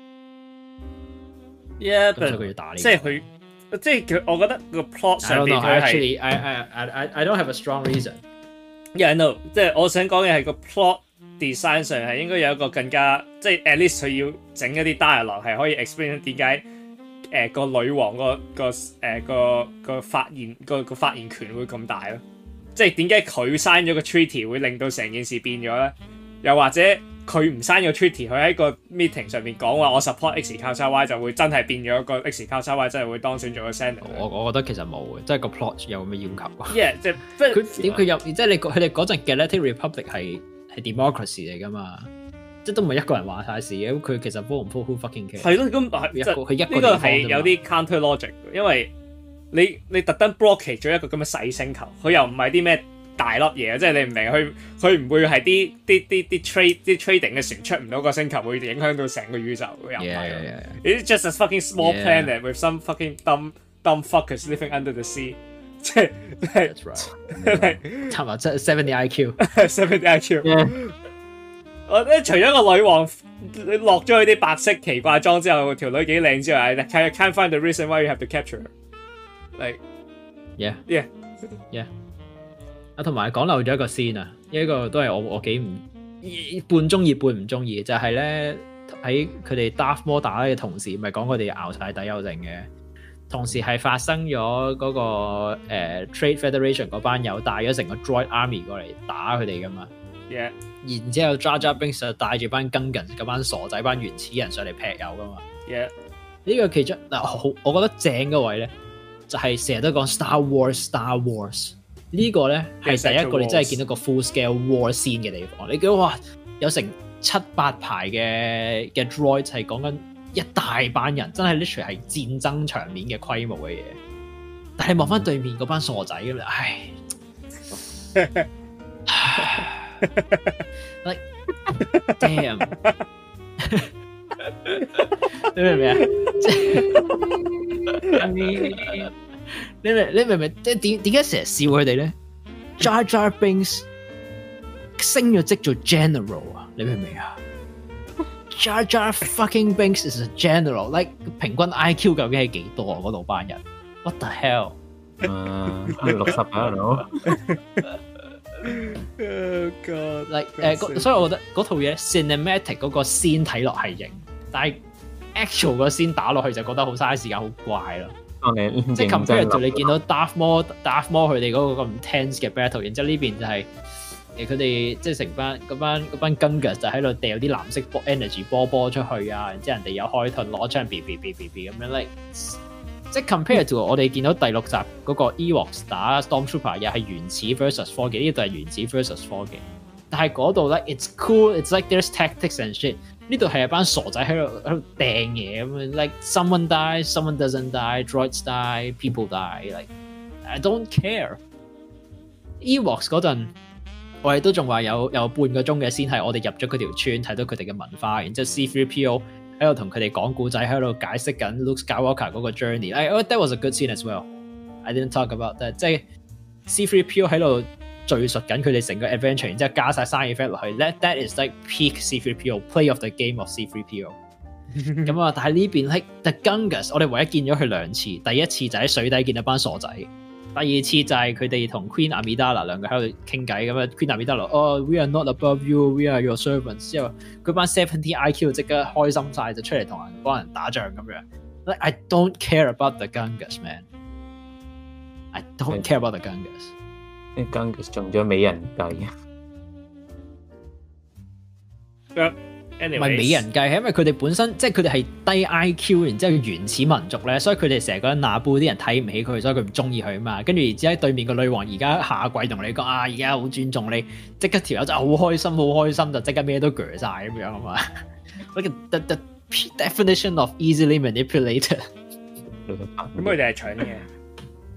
Yeah， 所以佢要打呢個， 即係佢，即係佢，我覺得個 plot 上邊佢係 actually I I I I don't have a strong reason。Yeah, I know，即係我想講嘅係個 plot design 上係應該有一個更加，即係 at least 佢要整一啲 dialogue 係可以 explain 點解誒個女王個個誒個個發言個個發言權會咁大咯。即係點解佢 sign 咗個 treaty 會令到成件事變咗咧？又或者佢唔 sign 個 treaty，佢喺個 meeting 上面講話我 support X 交叉 Y 就會真係變咗個 X 交叉 Y 真係會當選做個 senator。我我覺得其實冇嘅，即係個 plot 有咩要求啊 ？Yeah， 即係佢點佢入即係你佢哋嗰陣 Galactic Republic 係係 democracy 嚟噶嘛？即係都唔係一個人話晒事嘅，咁佢其實 vote 唔 vote who fucking care？係咯，咁係一個佢一個呢個係有啲 counter logic， 因為你你特登 blockade 咗一個咁嘅細星球，佢又唔係啲咩大粒嘢，即係你唔明佢佢唔會係啲啲啲啲 trade 啲 trading 嘅船出唔到個星球，會影響到成個宇宙又唔係。It's just a fucking small planet with some fucking dumb dumb fuckers living under the sea。即係 ，That's right。差唔多即係 seventy I Q，seventy I Q。我咧除咗個女王落咗佢啲白色奇怪裝之後，條女幾靚之外，I can't find the reason why you have to capture her。Like yeah yeah yeah。啊，同埋講漏咗一個 scene 啊，呢一個都係我我幾唔半中意半唔中意，就係咧喺佢哋 Darth Maul 打嘅同時，咪講佢哋熬晒底有剩嘅，同時係發生咗嗰、那個、呃、Trade Federation 嗰班友帶咗成個 Droid Army 過嚟打佢哋噶嘛。 Yeah. 然之後 Jar Jar Binks 就帶住班 Gungans 嗰班傻仔班原始人上嚟劈友噶嘛。 Yeah. 呢個其中嗱好，我覺得正嘅位咧，就係成日都講 Star Wars Star Wars。呢個咧係第一個你真係見到個 full scale war scene 嘅地方，你見到哇有成七八排嘅嘅 droids 係講緊一大班人，真係 literally 係戰爭場面嘅規模嘅嘢。但係望翻對面嗰班傻仔咁樣，唉，like damn，你明唔明啊？你明你明唔明？即係點點解成日笑佢哋咧 ？Jar Jar Binks 升咗職做 general 啊！你明唔明啊 ？Jar Jar fucking Binks is a general，like 平均 I Q 究竟係幾多啊？嗰度班人 ，what the hell？ 誒，六十啊，佬。 Oh God！like 誒，所以我覺得嗰套嘢 cinematic 嗰個 scene 睇落係型，但係 actual 個 scene 打落去就覺得好嘥時間，好怪咯。即係 compare to 你見到 Darth Maul、Darth Maul 佢哋嗰個咁 tense 嘅 battle， 然之後呢邊就係誒佢哋即係成班嗰班嗰班 Gungans 就喺度掉啲藍色 energy 波波出去啊，然之後人哋有開盾攞槍 b b b b b 咁樣 like， 即係 compare to 我哋見到第六集嗰個 Ewoks 打 Stormtrooper 又係原始 versus 科技，呢度係原始 versus 科技，但係嗰度咧 it's cool，it's like there's tactics and shit。呢度係一班傻仔喺度喺度掟嘢咁樣 ，like someone dies, someone doesn't die, droids die, people die, like I don't care。Ewoks 嗰陣，我哋都仲話有有半個鐘嘅先係我哋入咗嗰條村睇到佢哋嘅文化，然之後 C three P O 喺度同佢哋講故仔，喺度解釋緊 Luke Skywalker 嗰個 journey。I that was a good scene as well. I didn't talk about that。即係 C three P O 喺度敘述緊佢哋成個 adventure， 然之後加晒生意 effect 落去 ，that that is like peak C three P O play of the game of C three P O。咁啊，但係呢邊 like the Gungans， 我哋唯一見咗佢兩次，第一次就喺水底見到班傻仔，第二次就係佢哋同 Queen Amidala 兩個喺度傾偈咁啊 ，Queen Amidala， 哦、oh, ，we are not above you，we are your servants。之後佢班seventy I Q 即刻開心晒，就出嚟同人幫人打仗咁樣。Like I don't care about the Gungans man，I don't care about the Gungans。 啲 Gungans 中咗美人計啊！ 唔係美人計，係因為佢哋本身即係佢哋係低 I Q， 然之後原始民族咧，所以佢哋成日覺得那布啲人睇唔起佢，所以佢唔中意佢啊嘛。跟住然之後喺對面個女王而家下跪同你講啊，而家好尊重你，即刻條友就好開心，好開心就即刻咩都鋸晒咁樣啊嘛。Like the the definition of easily manipulated。 咁佢哋係搶嘅。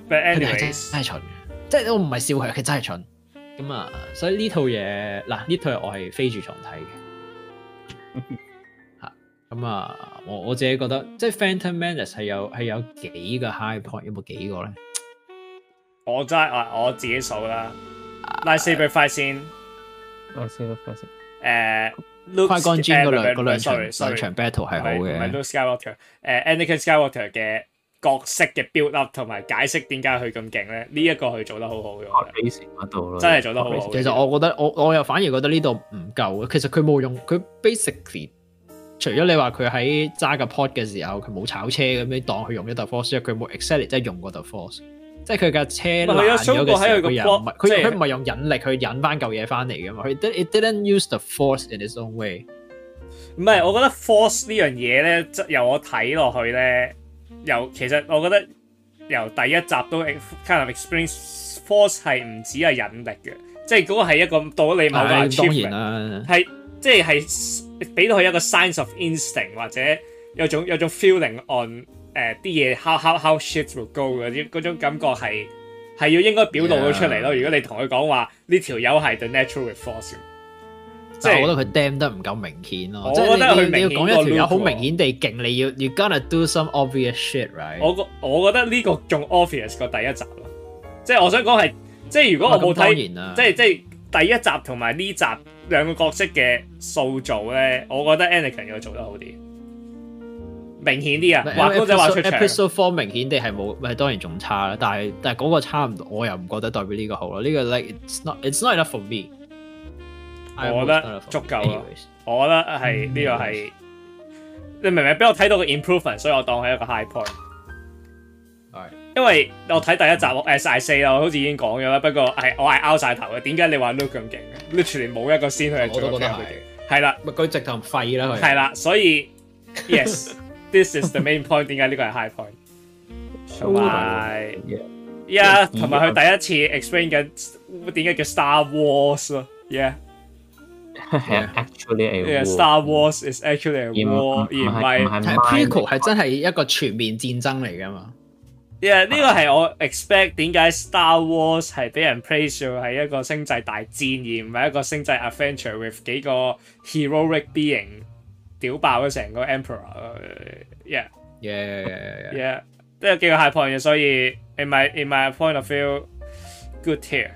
But anyways， 真係蠢嘅，即係我唔係笑佢，佢真係蠢。咁啊，所以呢套嘢嗱，呢套我係飛住重睇嘅。嚇，咁啊，我我自己覺得，即係 Phantom Menace 係有係有幾個 high point，有冇幾個咧？ 我真係我我自己數啦 ，Lightsaber fight 先 ，Lightsaber fight 先，誒。 Qui-Gon Jinn嗰兩嗰兩場 sorry, sorry, 兩場 battle 係好嘅， 唔係 Luke Skywalker，誒 Anakin Skywalker 嘅角色嘅 build up 同埋解釋點解佢咁勁咧？呢一個佢做得好好嘅， 嗰度咯， 真係做得好好。 其實我覺得我我又反而覺得呢度唔夠。其實佢冇用，佢 basically 除咗你話佢喺揸個 pod 嘅時候佢冇炒車咁樣當佢用一道 force，佢冇 exactly 即係用嗰道 force。即係佢架車爛咗嘅時候，佢又唔係佢佢唔係用引力去引翻嚿嘢翻嚟嘅嘛，佢 it didn't use the force in its own way。 唔係，我覺得 force 呢樣嘢咧，由我睇落去咧，由其實我覺得由第一集都 kind of experience force 係唔止係引力嘅，即係嗰個係一個到咗你某個 achievement，係即係係俾到佢一個 signs of instinct 或者有種有種 feeling on。誒啲嘢 how how how shit will go 嗰啲嗰種感覺係係要應該表露到出嚟咯。Yeah. 如果你同佢講話呢條友係 the natural force，即係我覺得佢 damn 得唔夠明顯咯。我覺得佢你要講一條友好明顯地勁，你要 you gotta do some obvious shit，right？我覺我覺得呢個仲 obvious 過第一集咯。即係我想講係，即係如果我冇睇，即係即係第一集同埋呢集兩個角色嘅塑造咧，我覺得 Anakin 要做得好啲。明顯啲啊，畫公仔畫出場。Episode four 明顯地係冇，咪當然仲差啦。但係但係嗰個差唔多，我又唔覺得代表呢個好咯。呢、這個 like it's not it's not enough for me。我覺得足夠咯。我覺得係呢、這個係、嗯、你明唔明？俾我睇到個 improvement， 所以我當係一個 high point。係，因為我睇第一集，誒晒四啦，我好似已經講咗啦。不過係我係拗晒頭嘅。點解你話 Luke 咁勁嘅 ？Literally 冇一個先去做。我都覺得係。係啦，咪佢直頭廢啦佢。係啦，所以 yes。This is the main point。點解呢個係 high point？ 同埋，yeah， 同埋佢第一次 explain 緊點解叫 Star Wars 咯。Yeah，actually a war。Star Wars is actually a war，而唔係 prequel 係真係一個全面戰爭嚟㗎嘛。Yeah， 呢個係我 expect 點解 Star Wars 係俾人 praise 做係一個星際大戰，而唔係一個星際 adventure with 幾個 heroic being。屌爆咗成個 Emperor，yeah，yeah，yeah，yeah，都有幾個 high point 嘅，所以 in my in my point of view，good tier。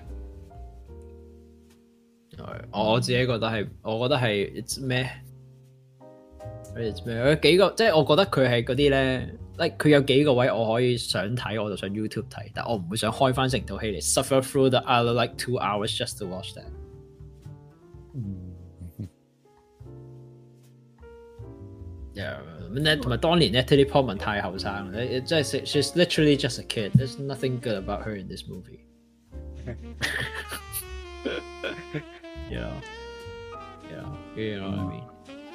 我自己覺得係，我覺得係 it's 咩 ？it's 咩？有幾個即係我覺得佢係嗰啲咧 ，like 佢有幾個位我可以想睇，我就上 YouTube 睇，但我唔會想開翻成套戲嚟 suffer through the other like two hours just to watch that。嗯。同埋當年 Natalie Portman 太後生啦，真係 she's literally just a kid. There's nothing good about her in this movie. Yeah, yeah, you know what I mean.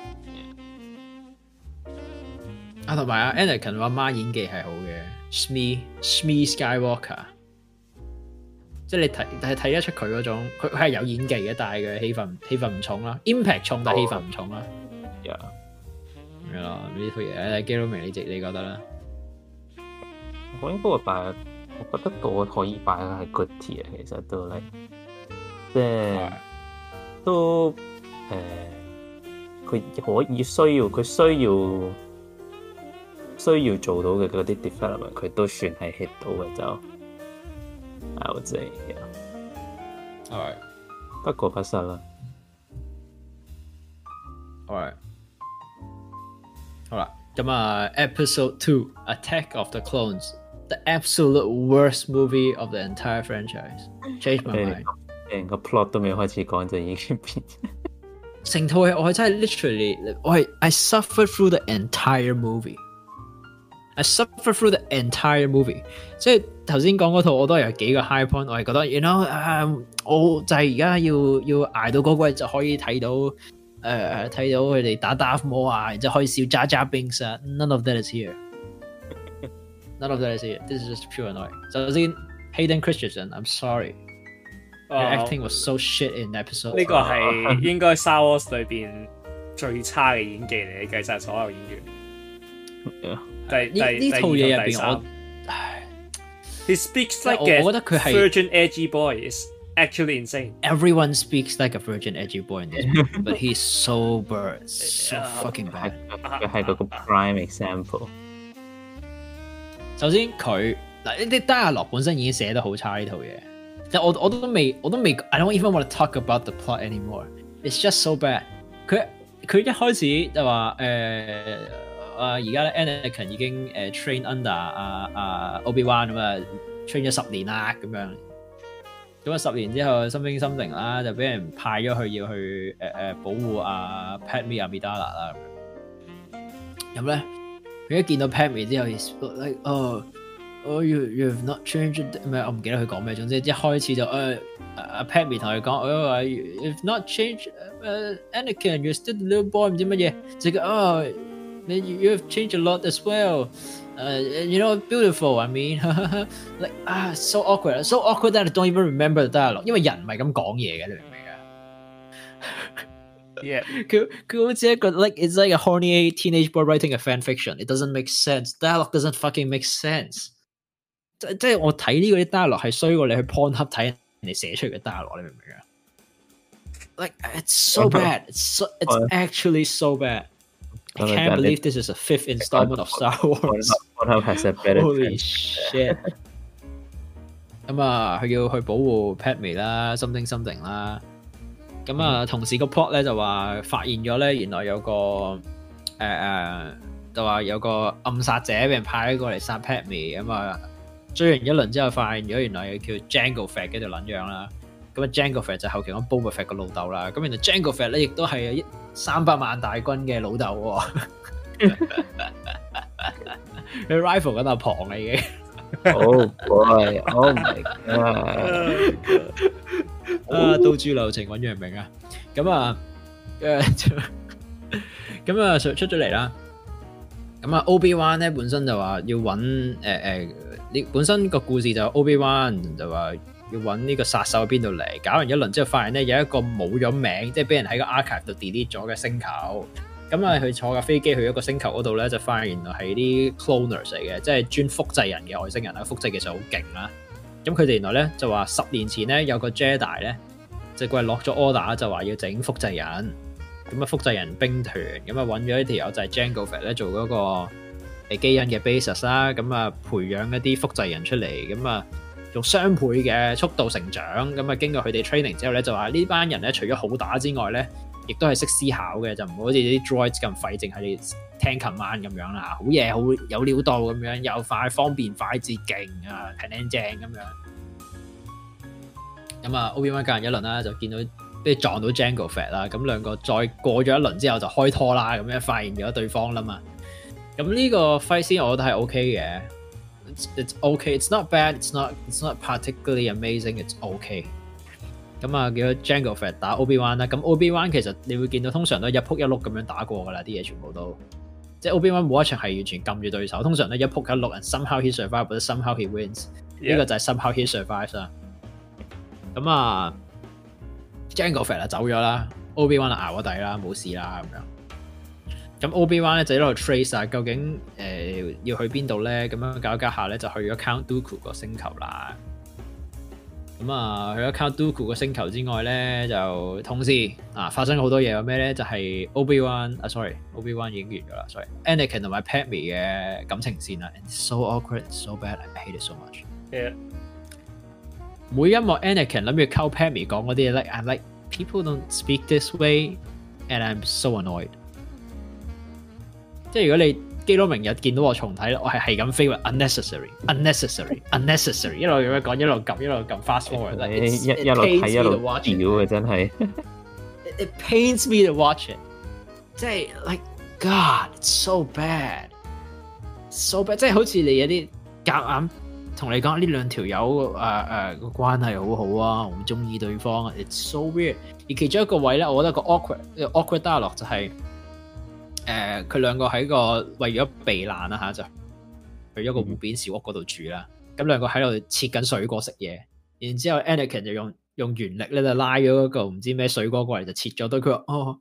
啊，同埋阿 Anakin 阿媽演技係好嘅 ，Shmi Shmi Skywalker， 即係你睇係睇得出佢嗰種，佢佢係有演技嘅，但係佢戲份戲份唔重啦 ，impact 重但係戲份唔重啦。Yeah。係咯，呢套嘢基佬明你直你覺得咧？ 我應該會擺，我覺得都可以擺係 good tier 其實都係，即係都誒，佢、呃、可以需要佢需要需要做到嘅嗰啲 development， 佢都算係 hit 到嘅就，I would say，係，不過不失啦。Alright。 好啦，咁啊 ，Episode Two Attack of the Clones，the absolute worst movie of the entire franchise。Change my mind。 成個 plot 都未開始講就已經變。 成套戲我係真係 literally， 我係 I suffered through the entire movie。I suffered through the entire movie。即係頭先講嗰套我都有幾個 high point， 我係覺得 ，you know， 啊、uh, 我就係而家要要捱到嗰季就可以睇到。誒、uh, 睇到佢哋打 Darth Maul 啊，然之後可以笑 Jar Jar Binks 啊 ，none of that is here. None of that is here. This is just pure annoying. 首先 Hayden Christensen, I'm sorry. Your、uh, acting was so shit in episode. 呢個係應該 Star Wars 裏邊最差嘅演技嚟，計晒所有演員。第呢呢套嘢入邊我，唉， He speaks like a virgin edgy boy. It's actually insane. Everyone speaks like a virgin edgy boy in this movie, but he's sober, so fucking bad. 佢係嗰個 prime example。 首先佢嗱呢啲 dialogue 本身已經寫得好差呢套嘢，即係我我都未我都未 I don't even want to talk about the plot anymore. It's just so bad. 佢佢一開始就話誒啊而家咧 Anakin 已經誒、呃、train under 啊啊 Obi-Wan 咁啊 train 咗十年啦咁樣，咁啊十年之後 something something 啦就俾人派咗去要去誒誒、呃、保護啊 Padme Amidala 啦咁樣，咁咧。佢一見到 Padme 之後 ，he's like oh oh you you've not changed 咩？我唔記得佢講咩，總之一開始就誒阿 Padme 同佢講哦 you've not changed、uh, Anakin you're still the little boy 唔知乜嘢，就個哦 you've changed a lot as well， uh, you know beautiful I mean like 啊、ah, so awkward so awkward that I don't even remember the dialogue， 因為人唔係咁講嘢嘅，你明唔明啊？ Yeah， 佢佢好似一個 like it's like a horny teenage boy writing a fan fiction. It doesn't make sense. Dialogue doesn't fucking make sense. 即即係我睇呢個啲 dialogue 係衰過你去 Pornhub 睇人哋寫出嚟嘅 dialogue， 你明唔明啊 ？Like it's so bad. It's so it's actually so bad. I can't believe this is a fifth installment of Star Wars. Pornhub has a better. Holy shit. 咁啊，佢要去保護 Padme 啦 ，something something 啦。咁啊，同時個 plot 咧就話發現咗咧，原來有個誒誒、呃，就話有個暗殺者俾人派咗過嚟殺 Padme，咁啊追完一輪之後，發現咗原來叫 Jango Fett 嘅條撚樣啦。咁啊 Jango Fett 就後期講 Boba Fett 個老豆啦。咁原來 Jango Fett 咧亦都係三百萬大軍嘅老豆喎。佢 rival 緊阿龐啦已經。 Oh boy! Oh my god! 啊，刀豬流情揾楊明啊，咁啊，誒，咁啊出出咗嚟啦，咁啊 Obi-Wan 咧本身就話要揾誒誒，呢本身個故事就 Obi-Wan 就話要揾呢個殺手喺邊度嚟，搞完一輪之後發現咧有一個冇咗名，即係俾人喺個 archive 度 delete 咗嘅星球，咁啊佢坐架飛機去一個星球嗰度咧，就發現原來係啲 cloners 嚟嘅，即係專複製人嘅外星人啦，複製技術好勁啦。咁佢哋原來咧就話十年前咧有個 Jedi 咧，就佢係落咗 order 就話要整複製人，咁啊複製人兵團，咁啊揾咗一條友就係 Jango Fett 咧做嗰個誒基因嘅 basis 啦，咁啊培養一啲複製人出嚟，咁啊用雙倍嘅速度成長，咁啊經過佢哋 training 之後咧就話呢班人咧除咗好打之外咧，亦都係識思考嘅，就唔好似啲 droids 咁廢，淨係聽 command 咁樣啦，好嘢，好有料到咁樣，又快方便快捷勁啊，平靚正咁樣。咁啊 Obi-Wan 教人一輪啦，就見到即係撞到 Jango Fett 啦，咁兩個再過咗一輪之後就開拖啦，咁樣發現咗對方啦嘛。咁呢個 fight scene 我覺得係 OK 嘅 ，it's it's OK, it's not bad, it's not it's not particularly amazing, it's OK。咁啊，叫 Jango Fett 打 Obi-Wan 啦，咁 Obi-Wan 其實你會見到通常都一仆一碌咁樣打過噶啦，啲嘢全部都，即係 Obi-Wan 冇一場係完全撳住對手，通常咧一仆一碌 and somehow he survives 或者 somehow he wins， 呢、yeah. 個就係 somehow he survives 啦。咁啊 ，Jango Fett 啊走咗啦 ，Obi-Wan 啊熬咗底啦，冇事啦咁樣。咁 Obi-Wan 咧就喺度 trace 啊，究竟誒、呃、要去邊度咧？咁樣搞一搞下咧就去咗 Count Dooku 個星球啦。咁啊，去咗 Count Dooku 個星球之外咧，就同時啊發生好多嘢，有咩咧？就係、是、Obi-Wan 啊 ，sorry，Obi-Wan 已經完咗啦 ，sorry，Anakin 同埋 Padme 嘅感情線啦 ，and so awkward，so bad，I hate it so much。Yeah. 每一幕 Anakin 諗住溝 Padme 講嗰啲嘢 ，like I'm like people don't speak this way，and I'm so annoyed。即係如果你基佬明日見到我重睇咧，我係係咁飛話 unnecessary，unnecessary，unnecessary， 一路咁樣講，一路撳，一路撳 fast forward，一一路睇一路屌嘅真係。 It pains me to watch it， 即係 like God，it's so bad，so bad， 即係好似你有啲夾硬同你講呢兩條友誒誒個關係好好啊，好中意對方 ，it's so weird。而其中一個位咧，我覺得個 awkward，awkward dialogue 就係、是。誒、呃，佢兩個喺個為咗避難啦吓，就去咗個湖邊小屋嗰度住啦。咁、嗯、兩個喺度切緊水果食嘢，然之後 Anakin 就用用原力咧就拉咗嗰個唔知咩水果過嚟就切咗。對佢話：哦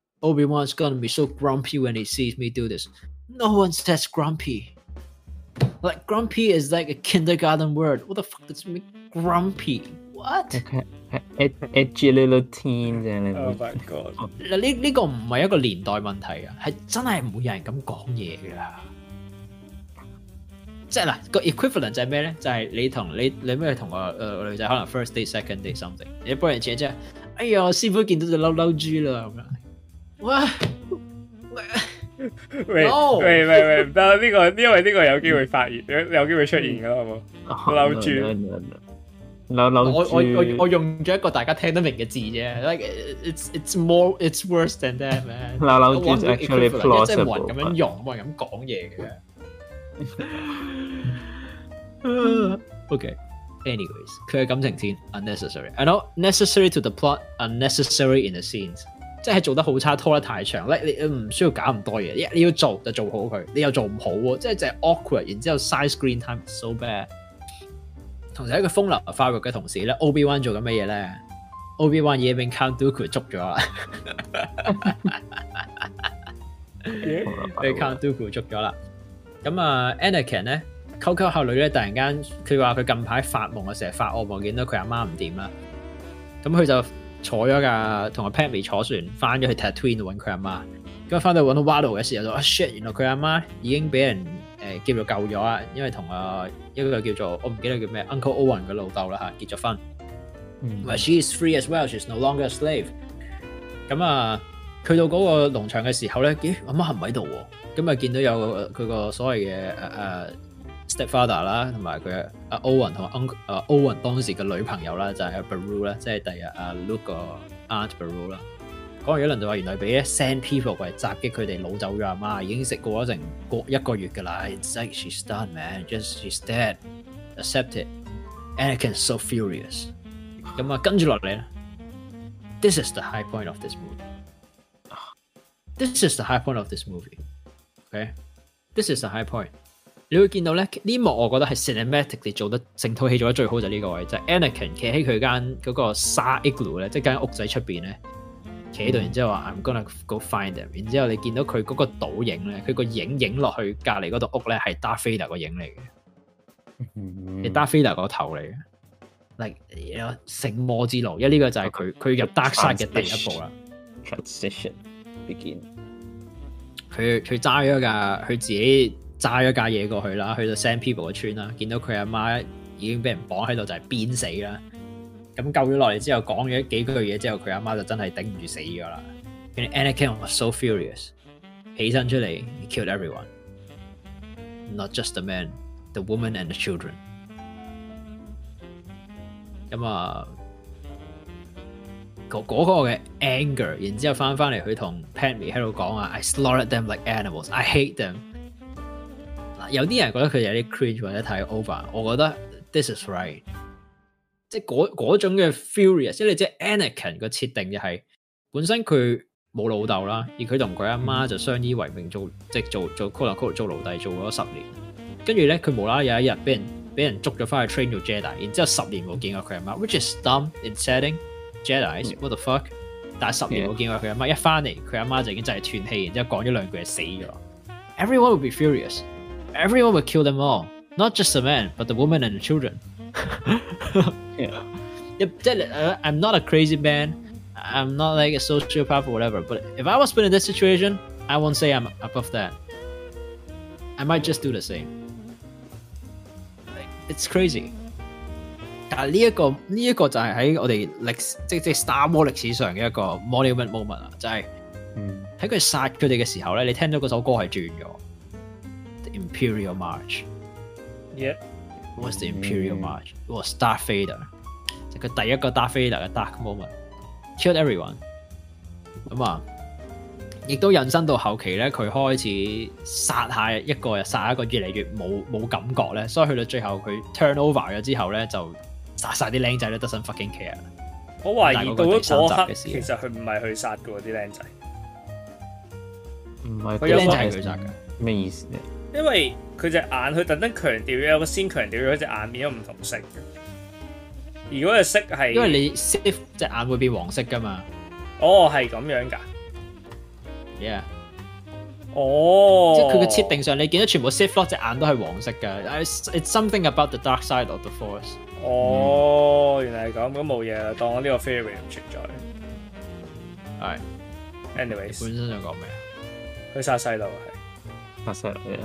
，Obi-Wan's gonna be so grumpy when he sees me do this. No one says grumpy. Like grumpy is like a kindergarten word. What the fuck does it mean? Grumpy? What? Edgy little teen 啫。 Oh my god！ 嗱呢呢個唔係一個年代問題啊，係真係唔會有人咁講嘢㗎。即係嗱個 equivalent 就係咩咧？就係、是、你同你你咩同個誒女仔可能 first date second date something， 你幫人錢即係，哎呀師傅見到隻嬲嬲豬啦咁樣。哇！喂喂喂喂唔得，呢個因為呢個有機會發現，有有機會出現㗎好冇？嬲豬。 嬲嬲豬。 我我我我用咗一個大家聽得明嘅字啫 ，like it's it's more it's worse than that man。 嬲嬲豬 is actually plausible， 即係冇人咁樣用，冇人咁講嘢嘅。Okay，anyways， 佢嘅感情線 unnecessary，I know necessary to the plot，unnecessary in the scenes， 即係做得好差，拖得太長，你你唔需要搞咁多嘢，你要做就做好佢，你又做唔好喎，即係就係 awkward， 然之後 side screen time so bad。同時喺個風流發育嘅同時咧 ，Obi-Wan 做緊乜嘢咧 ？Obi-Wan 已經俾 Count Dooku 捉咗啦，俾 Count Dooku 捉咗啦。咁啊 ，Anakin 咧，溝溝下女咧，突然間佢話佢近排發夢啊，成日發惡夢，見到佢阿媽唔掂啦。咁佢就坐咗架同阿 Padme 坐船翻咗去 Tatooine 度揾佢阿媽。咁翻到揾到 Watto 嘅時候就啊 shit， 原來佢阿媽已經俾人誒叫做救咗啦，因為同啊一個叫做我唔記得叫咩 Uncle Owen 嘅老豆啦嚇結咗婚。嗯 she is free as well, she's no longer a slave。咁啊，去到嗰個農場嘅時候咧，咦阿媽唔喺度喎。咁啊，見到有佢個所謂嘅誒誒 stepfather 啦，同埋佢阿 Owen 同埋 Uncle 誒 Owen 當時嘅女朋友啦，就係阿 Beru 啦，即係第日阿 Luke 個 Aunt Beru 啦。講完一輪就話原來俾 send people 過嚟襲擊佢哋，擄走咗阿媽，已經食過咗成個一個月㗎啦。It's like she's done, man. Just she's dead. Accept it. Anakin's so furious. 咁啊，跟住落嚟咧 ，This is the high point of this movie. This is the high point of this movie. Okay, this is the high point. 你會見到咧呢幕，我覺得係 cinematically 做得成套戲做得最好就係呢個位，就係、是、Anakin 企喺佢間嗰個沙 igloo 咧，即係間屋仔出邊咧。企喺度，然之後話 I'm gonna go find them。然之後你見到佢嗰個倒影咧，佢個影影落去隔離嗰度屋咧係 Darth Vader 個影嚟嘅，係 Darth Vader 個頭嚟嘅。like 有聖魔之路，因為呢個就係佢佢入 Dark Side 嘅第一步啦。 Transition begin。 佢佢揸咗架，佢自己揸咗架嘢過去啦，去到 Sand People 嘅村啦，見到佢阿媽已經俾人綁喺度，就係鞭死啦。咁救咗落嚟之後，講咗幾句嘢之後，佢阿媽就真係頂唔住死咗啦。跟住 Anakin was so furious， 起身出嚟 he killed everyone，not just the man， the woman and the children。咁啊，嗰、嗰個嘅 anger， 然之後翻翻嚟，佢同 Padme 喺度講啊 ，I slaughtered them like animals，I hate them。嗱，有啲人覺得佢哋有啲 cringe 或者太 over， 我覺得 this is right。即係嗰嗰種嘅 furious， 即係你知 Anakin 個設定就係、是、本身佢冇老豆啦，而佢同佢阿媽就相依為命做，即係做做 quote unquote 做奴隸做咗十年，跟住咧佢無啦啦有一日俾人俾人捉咗翻去 train 做 Jedi， 然之後十年冇見過佢阿媽 ，which is dumb in setting Jedi，what the fuck？ 但係十年冇見過佢阿媽，一翻嚟佢阿媽就已經真係斷氣，然之後講咗兩句就死咗。Everyone would be furious. Everyone would kill them all, not just the man, but the woman and the children. yeah. uh, I'm not a crazy man. I'm not like a sociopath or whatever. But if I was put in this situation, I won't say I'm above that. I might just do the same. Like, it's crazy. 但係呢一個呢一個就係喺我哋歷史即即 Star Wars 歷史上嘅一個 monument moment 啊，就係喺佢殺佢哋嘅時候咧，你聽到嗰首歌係轉咗 The Imperial March. Yeah. What was the Imperial March? It was Darth Vader. 就佢第一個 Darth Vader 嘅 Dark Moment. Killed everyone. 咁啊，亦都引申到後期咧，佢開始殺下一個又殺一個，越嚟越冇冇感覺咧，所以去到最後佢 turn over 咗之後咧，就殺晒啲僆仔咧，doesn't fucking care。 我懷疑到咗嗰刻，其實佢唔係去殺嘅喎啲僆仔， 唔係啲僆仔係佢殺嘅， 咩意思咧？ 因為佢隻眼，佢特登強調有個先強調咗隻眼變咗唔同色嘅。如果隻色係因為你 Sith 隻眼會變黃色噶嘛？ 哦，係咁樣㗎。 Yeah， 哦， 即係佢嘅設定上，你見到全部 Sith Lord 隻眼都係黃色嘅。It's, it's something about the dark side of the Force。 哦，嗯、原來係咁，咁冇嘢啦，當我呢個 theory 唔存在。 係 ，anyways， 本身想講咩啊？ 佢殺細路係殺細路嘅。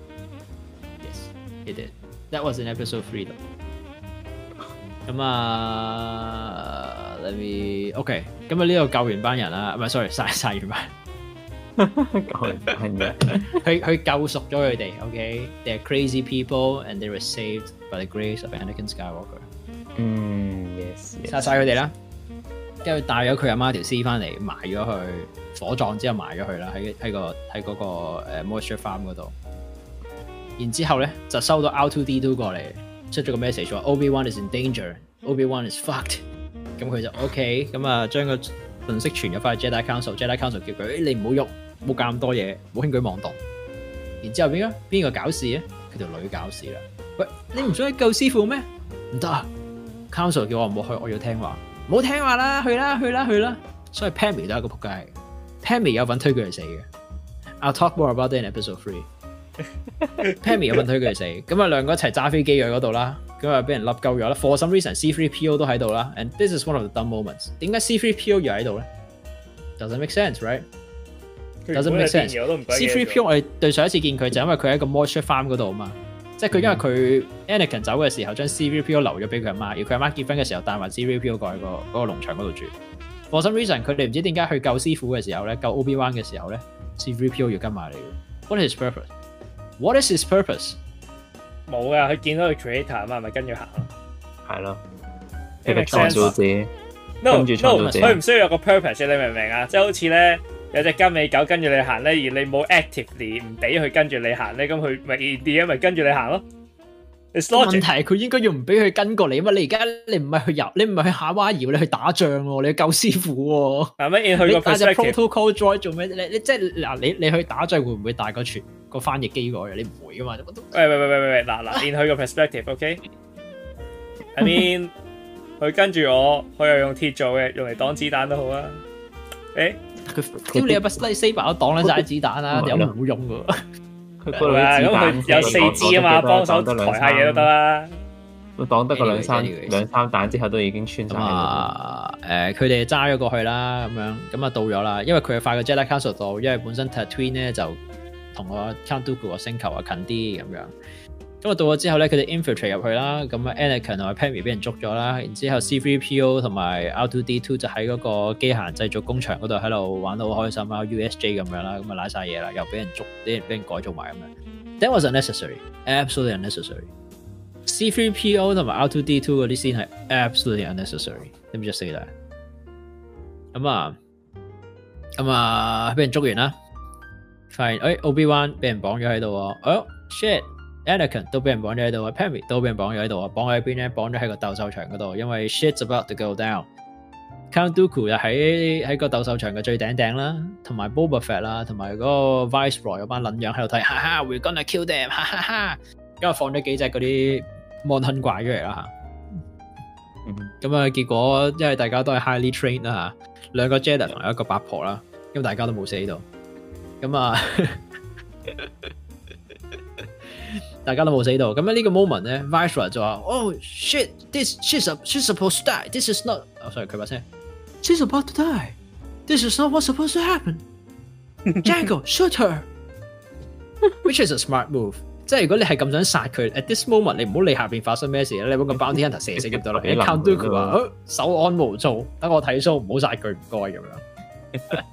Yes, it did. That was in episode three 度。咁啊 ，let me OK。咁啊，呢度救完班人啦，唔係 sorry， 殺殺完班。救完班人，佢佢救贖咗佢哋。OK，they're crazy people and they were saved by the grace of Anakin Skywalker。 嗯 ，yes， 殺晒佢哋啦。跟住帶咗佢阿媽條屍翻嚟，埋咗去火葬之後埋咗佢啦，喺喺個喺嗰個誒 moisture farm 嗰度。然之後咧就收到 R two D two 過嚟，出咗個 message 話 Obi-Wan is in danger，Obi-Wan is fucked。咁佢就 OK，咁啊將個信息傳咗翻去 Jedi Council，Jedi Council 叫佢誒你唔好喐，唔好搞咁多嘢，唔好輕舉妄動。然之後邊個邊個搞事咧？佢條女搞事啦。喂，你唔想去救師傅咩？唔得啊 ！Council 叫我唔好去，我要聽話。唔好聽話啦，去啦去啦去啦！所以 Pammy 都係一個仆街 ，Pammy 有份推佢去死嘅。I'll talk more about that in episode three 。Pammy 有份推佢去死，咁啊兩個一齊揸飛機去嗰度啦，咁啊俾人笠鳩咗啦。For some reason C three P O 都喺度啦 ，and this is one of the dumb moments。點解 C three P O 又喺度咧 ？Doesn't make sense, right? Doesn't make sense。C three P O 我哋對上一次見佢就因為佢喺個 moisture farm 嗰度啊嘛。即係佢因為佢 Anakin 走嘅時候，將 C three P O 留咗俾佢阿媽，而佢阿媽結婚嘅時候帶埋 C three P O 過去、嗰個嗰個農場嗰度住。For some reason，佢哋唔知點解去救師傅嘅時候咧，救 Obi-Wan 嘅時候咧 ，C three P O 要跟埋嚟嘅。What is his purpose? What is his purpose? 冇噶，佢見到佢 creator 啊嘛，咪跟住行咯。係咯，佢嘅創造者。 No no，佢唔需要有個 purpose，你明唔明啊？即係好似咧。有隻金尾狗跟住你行咧，而你冇 actively 唔俾佢跟住你行咧，咁佢咪 idea 咪跟住你行咯。問題係佢應該要唔俾佢跟過你嘛？你而家你唔係去遊，你唔係去夏威夷，你去打仗喎，你去救師傅喎。係咪？去個 protocol droid 做咩？你你即係嗱，你你去打仗會唔會帶個傳個翻譯機過去？你唔會噶嘛？ 喂喂喂喂喂，嗱嗱，練佢個 perspective，OK？I mean，佢跟住我，佢又用鐵做嘅，用嚟擋子彈都好啊。誒？佢屌你有把 lightsaber 都擋撚晒子彈啦，有冇用噶？ 佢嗰咁佢有四支啊嘛，幫手抬下嘢都得啦。 佢擋得個兩三兩三彈之後都已經穿晒。 啊誒，佢哋揸咗過去啦，咁樣咁啊到咗啦，因為佢係快過 Jedi Council 到，因為本身 Tatooine 咧就同個 Count Dooku 個星球啊近啲咁樣。咁啊到咗之後咧，佢哋 infiltrate 入去啦，咁啊 Anakin 同埋 Padme 俾人捉咗啦，然之後 C three P O 同埋 R two D two 就喺嗰個機械人製造工場嗰度喺度玩得好開心啊 ，U S J 咁樣啦，咁啊瀨晒嘢啦，又俾人捉，俾人俾人改造埋咁樣。That was unnecessary, absolutely unnecessary. C three P O 同埋 R two D two 嗰啲先係 absolutely unnecessary. Let me just say that. 咁啊，咁啊俾人捉完啦，發現誒 Obi-Wan 俾人綁咗喺度喎，哦 shit。Anakin 都俾人綁咗喺度啊 Padme 都俾人綁咗喺度啊，綁喺邊咧？綁咗喺個鬥獸場嗰度，因為 shit's about to go down。Count Dooku 就喺喺個鬥獸場嘅最頂頂啦，同埋 Boba Fett 啦，同埋嗰個 Viceroy 嗰班撚樣喺度睇，哈哈 ，we're gonna kill them，哈哈哈。因為放咗幾隻嗰啲 Mon Hun 怪出嚟啦嚇。咁啊，結果因為大家都係 highly trained 啦嚇，兩個 Jedi 同一個八婆啦，因為大家都冇死到。咁啊。大家都冇死到，咁喺呢個 moment 咧 ，Viceroy 就話：Oh shit, this she's she's supposed to die. This is not. Oh sorry，佢把聲。She's about to die. This is not what's supposed to happen. Jango, shoot her. Which is a smart move. 即係如果你係咁想殺佢 ，at this moment 你唔好理下邊發生咩事啦，你揾個 bounty hunter 射死咁得啦。Count Dooku 話：手安無造，等我睇 show，唔好殺佢，唔該咁樣。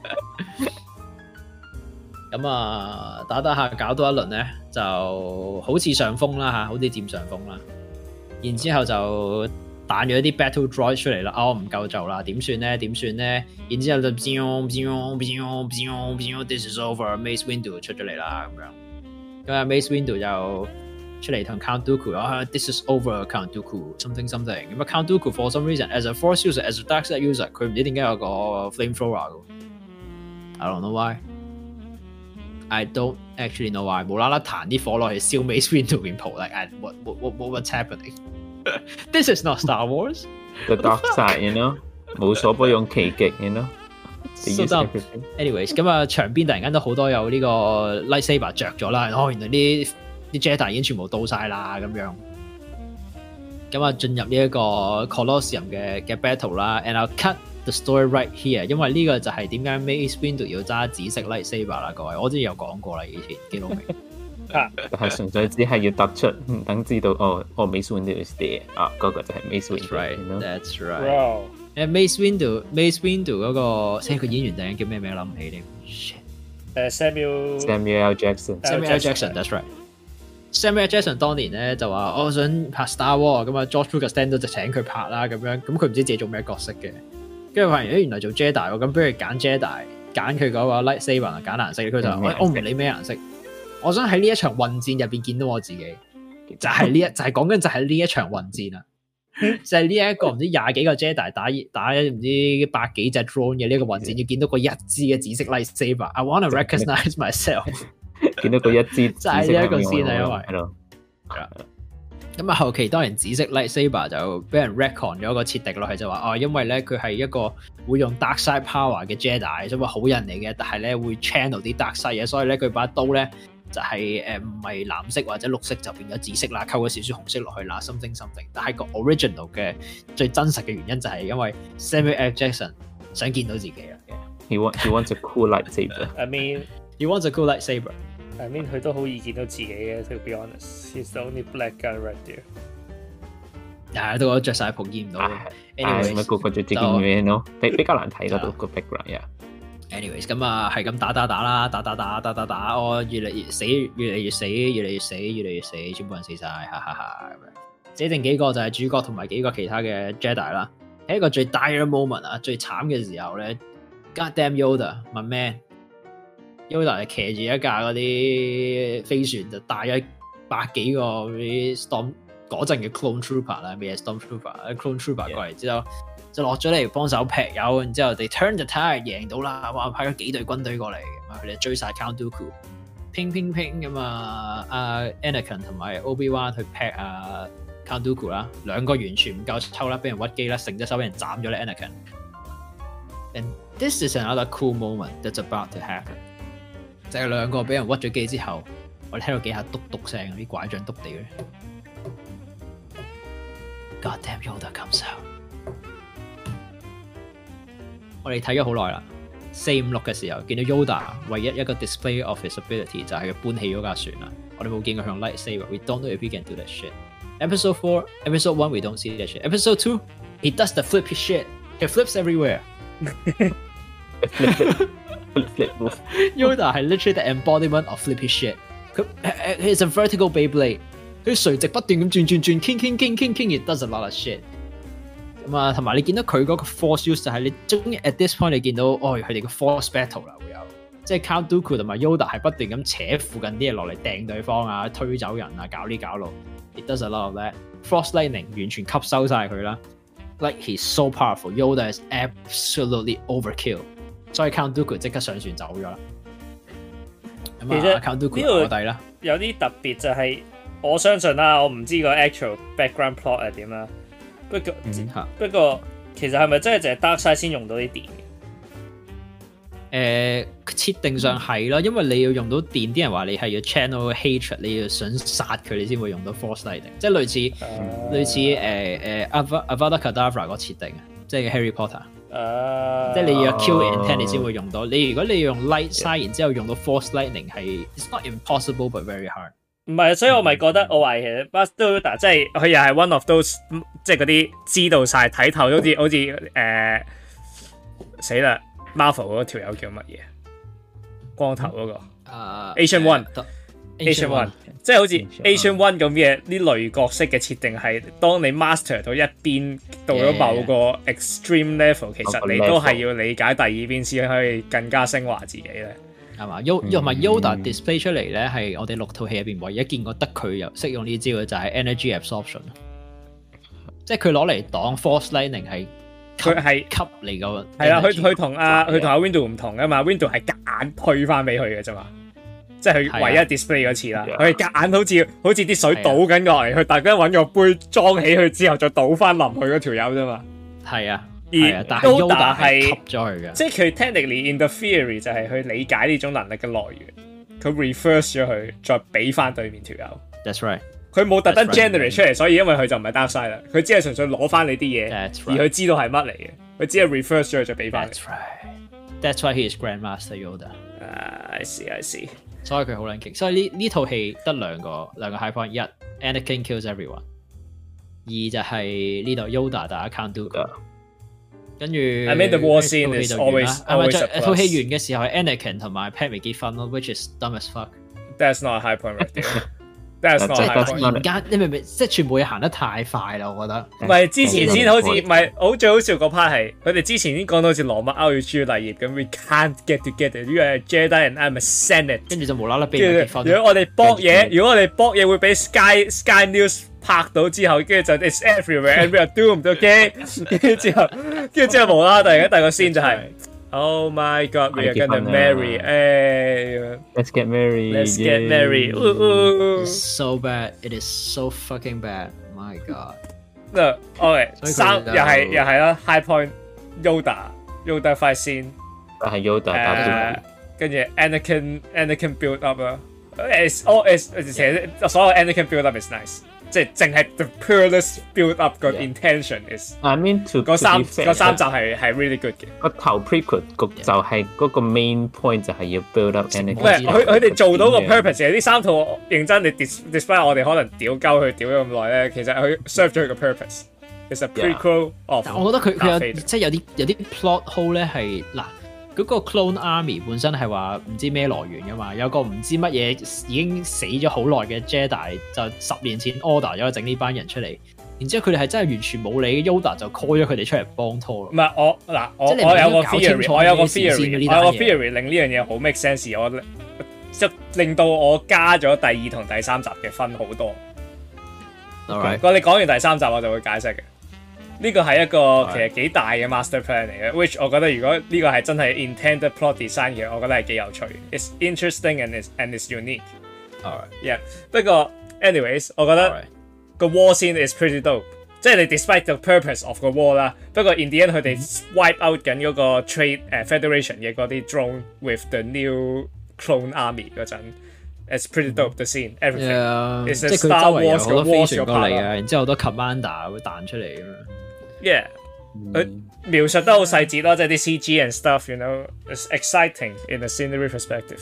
咁啊，打打下搞多一輪咧，就好似上風啦嚇，好似佔上風啦。然之後就彈咗啲 battle droid 出嚟啦，哦唔夠做啦，點算咧？點算咧？然之後就 this is over，Mace Windu 出咗嚟啦咁樣。咁啊 Mace Windu 就出嚟同 Count Dooku 啊 ，this is over，Count Dooku，something something。咁啊 Count Dooku for some reason，as a Force user，as a dark side user，佢唔知點解有個 flamethrower 嘅。I don't know why。I don't actually know why 無啦啦彈啲火落去燒 Mace Windu 面蒲 like I, what, what, what, what's happening? This is not Star Wars. The dark side, you know 無所不用其極 you know So anyways， 咁啊場邊突然間都好多有呢個 lightsaber 着咗啦，哦原來啲啲 Jedi 已經全部到晒啦咁樣，咁啊進入呢一個 Colosseum 嘅嘅 battle 啦 ，and I'll cut the story right here， 因為呢個就係點解 Mace Windu 要揸紫色 lightsaber 啦，各位，我之前有講過啦，以前幾老明。 啊，係純粹只係要突出，等知道哦，哦 Mace Windu is there 啊，嗰個就係 Mace Windu。That's right，that's right。誒 Mace Windu，Mace Windu 嗰個，即係個演員突然間叫咩名諗唔起添。 誒 Samuel Samuel L. Jackson。Samuel L. Jackson，that's right。Samuel L. Jackson 當年咧就話我想拍 Star Wars，咁啊 George Lucas 聽到就請佢拍啦，咁樣，咁佢唔知自己做咩角色嘅，跟住發現誒原來做 Jedi 喎，咁不如揀 Jedi，揀佢嗰個 lightsaber 揀顏色，佢就話我唔理咩顏色。我想喺呢一場混戰入邊見到我自己，就係呢一就係講緊就係呢一場混戰啊，就係呢一個唔知廿幾個 Jedi 打打唔知百幾隻 drone 嘅呢個混戰，要見到個一支嘅紫色 lightsaber。I wanna recognize myself。見到個一支就係呢一個先啊，因為咁啊後期當然紫色 lightsaber 就俾人 retcon 咗個設定落去，就話哦，因為咧佢係一個會用 dark side power 嘅 Jedi， 所以話好人嚟嘅，但係咧會 channel 啲 dark side 嘅，所以咧佢把刀咧。就係誒唔係藍色或者綠色就變咗紫色啦，溝咗少少紅色落去啦，something something。但係個 original 嘅最真實嘅原因就係因為 Samuel L. Jackson 想見到自己啦。He wants he wants a cool lightsaber. I mean, he wants a cool lightsaber. I mean 佢都好易見到自己嘅。To be honest, he's the only black guy right there. 係都我著曬袍見唔到。 Anyway，咪個個著啲咁樣咯，比比較難睇嗰度個 background 呀。 anyways 咁啊係咁打打打啦，打打打打打打，我越嚟越死，越嚟越死，越嚟越死，越嚟越死，全部人死晒，哈哈哈咁樣。死剩幾個就係主角同埋幾個其他嘅 Jedi 啦。喺一個最 dire moment 啊，最慘嘅時候咧 ，God damn Yoda，my man，Yoda 係騎住一架嗰啲飛船，就帶咗百幾個嗰啲 Storm 嗰陣嘅 Clone Trooper 啦，咩 Storm Trooper，Clone Trooper 過嚟之後。就落咗嚟幫手劈友，然之後哋 turn the tide 贏到啦，哇！派咗幾隊軍隊過嚟，咁佢哋追晒 Count Dooku，拼拼拼咁啊！阿 Anakin 同埋 Obi-Wan 去劈啊 Count Dooku 啦，兩個完全唔夠抽啦，俾人屈機啦，成隻手俾人斬咗咧 Anakin。And this is another cool moment that's about to happen。就係兩個俾人屈咗機之後，我哋聽到幾下篤篤聲，啲拐杖篤地嘅。God damn Yoda comes out。我哋睇咗好耐啦，四五六嘅時候見到 Yoda 唯一一個 display of his ability 就係佢搬起嗰架船啦。我哋冇見過佢用 lightsaber。We don't know if he can do that shit. Episode four, episode one, we don't see that shit. Episode two, he does the flippy shit. He flips everywhere. Yoda 係 literally the embodiment of flippy shit. 佢佢係 a vertical Beyblade， 佢垂直不斷咁轉轉轉，傾傾傾傾傾，it does a lot of shit。咁啊，同埋你見到佢嗰個 force use 就係你終於 at this point 你見到哦，佢哋個 force battle 啦會有，即係 Count Dooku 同埋 Yoda 係不斷咁扯附近啲嘢落嚟掟對方啊，推走人啊，搞呢搞路。It does a lot of that. Force lightning 完全吸收晒佢啦。Like he's so powerful. Yoda is absolutely overkill. 所以 Count Dooku 即刻上船走咗啦。咁啊 Count Dooku 落底啦。 有啲特別就係、是、我相信啦，我唔知個 actual background plot 係點啦。不過、嗯、不過其實係咪真係淨係 Darkseid 先用到啲電嘅？誒、 呃、設定上係啦，因為你要用到電，啲人話你係要 channel hatred， 你要想殺佢，你先會用到 Force Lightning， 即係類似、uh, 類似誒誒 Avada Kedavra 個設定，即係 Harry Potter，、uh, 即係你要 kill intent 你先會用到。你如果你要用 light side， 然之後用到 Force Lightning 係 it's not impossible but very hard。 唔係，所以我咪覺得我話其實 Bastard Yoda 即係佢又係 one of those 即係嗰啲知道晒睇透，好似好似誒死啦 Marvel 嗰條友叫乜嘢？光頭嗰、那個、uh, Agent One，Agent One， 即係好似 Agent One 咁嘅呢類角色嘅設定係，當你 master 到一邊到咗某個 extreme level， 其實你都係要理解第二邊先可以更加升華自己咧。係嘛 ？Yoda 同埋 Yoda display 出嚟咧，係我哋六套戲入邊唯一見過得佢有識用呢招嘅就係 energy absorption， 即係佢攞嚟擋 force lightning 係佢係吸嚟個係啦。佢佢同阿佢同阿 Windu 唔同噶嘛 ，Windu 係夾硬推翻俾佢嘅啫嘛，即係佢唯一 display 嗰次啦。佢係夾硬好似好似啲水倒緊落嚟，佢大家揾個杯裝起佢之後再倒翻淋去嗰條友啫嘛。係啊。 而但係 Yoda 係吸咗佢嘅， 即係佢 technically in the theory 就係去理解呢種能力嘅來源，佢 reverse 咗佢，再俾翻對面條友。 That's right。 佢冇特登 generate 出嚟，所以因為佢就唔係 Darkseid啦，佢只係純粹攞翻你啲嘢， right. 而佢知道係乜嚟嘅，佢只係 reverse 咗佢再俾翻。 That's right. That's why he is Grandmaster Yoda. Uh, I see, I see. 所以佢好撚勁，所以呢呢套戲得兩個兩個 high point，一 Anakin kills everyone， 二就係呢度 Yoda 打 Count Dooku。跟住 I mean the war scene is always always a plus。 套戲完嘅時候係 Anakin 同埋 Padme 結婚咯 ，which is dumb as fuck。 That's not a high point right there。That's not 即 high 係 point。 突然間，你明唔明？即係全部嘢行得太快啦，我覺得。 唔係之前先好似唔係好最好笑嗰 part 係，佢哋之前已經講到好似羅密歐與朱麗葉咁 ，We can't get together。呢個係 Jedi and I'm a Senate。跟住就無啦啦俾人結婚。 如果我哋搏嘢，如果我哋搏嘢會俾 Sky Sky News 拍到之後，跟住就 It's everywhere and we are doomed。OK， 跟住之後，跟住之後無啦啦突然間第個 scene 就係。Oh my God, we are gonna marry. Hey, let's get married. Let's get married. Ooh. It's so bad. It is so fucking bad. My God. No, okay. 三又係又係啦 ，High Point Yoda Yoda fight scene。 係 Yoda 打到。 跟住 Anakin Anakin build up 啦。It's all is 其實所有 Anakin build up is nice。即係淨係 the purest build up 個 intention is。 I mean to 嗰三嗰三集係係 really good 嘅。 個頭 prequel 局就係嗰個 main point 就係要 build up Anakin。 唔係佢佢哋做到個 purpose 嘅，呢三套認真你 despite 我哋可能屌鳩佢屌咗咁耐咧，其實佢 serve 咗佢個 purpose。It's a prequel of。 但我覺得佢佢有即係有啲有啲 plot hole 咧係嗱。嗰個 clone army 本身係話唔知咩來源噶嘛，有個唔知乜嘢已經死咗好耐嘅 Jedi 就十年前 order 咗整呢班人出嚟，然之後佢哋係真係完全冇理 Yoda 就 call 咗佢哋出嚟幫拖咯。 唔係我嗱我我有個 theory， 我有個 theory， 我有個 theory 令呢樣嘢好 make sense， 我即令到我加咗第二同第三集嘅分好多。 Alright， 我哋講完第三集我就會解釋嘅。呢個係一個其實幾大嘅 master plan 嚟嘅 ，which 我覺得如果呢個係真係 intended plot design 嘅，我覺得係幾有趣。It's interesting and it's and it's unique. Alright, yeah. 不過 anyways， 我覺得個 war scene is pretty dope。即係你 despite the purpose of 個 war 啦，不過 in the end 佢哋 wipe out 緊嗰個 trade 誒 federation 嘅嗰啲 drone with the new clone army 嗰陣。It's pretty dope the scene, everything. Yeah, it's a Star Wars 嘅 war 嘅 part 啊，然之後好多 commander 會彈出嚟咁樣。 Yeah，佢描述得好細節咯，即係啲 C G and stuff，you know, it's exciting in a scenery perspective.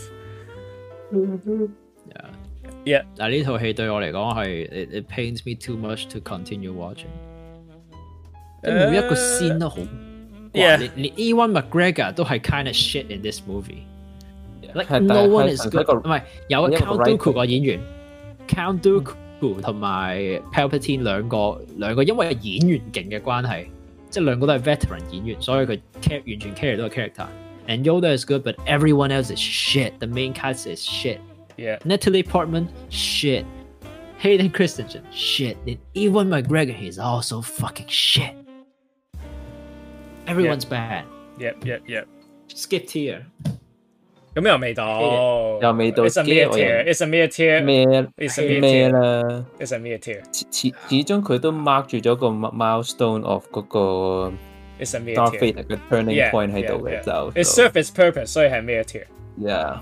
Yeah, yeah. 但係呢套戲對我嚟講係 it, it pains me too much to continue watching。每一個 scene 都好，連連 Ewan McGregor 都係 kind of shit in this movie。Like no one is good。唔係有 Count Dooku 個演員 ，Count Dooku。同埋 Palpatine 兩個兩個因為演員勁嘅關係，即係兩個都係 veteran 演員，所以佢 care 完全 carry 到個 character。And Yoda is good, but everyone else is shit. The main cast is shit. Yeah. Natalie Portman, shit. Hayden Christensen, shit. And Ewan McGregor, he's also fucking shit. Everyone's yep. bad. Yep, yep, yep. Skip tier. 咁又未到， 又未到。 It's a mere tier. It's a mere tier. 咩？ It's a mere 咩啦 ？It's a mere tier. 始始終佢都 mark 住咗個 milestone of 嗰個 It's a mere Darth tier. Vader 嘅 turning point 喺度嘅就。 It serves its purpose， 所以係 mere tier. Yeah。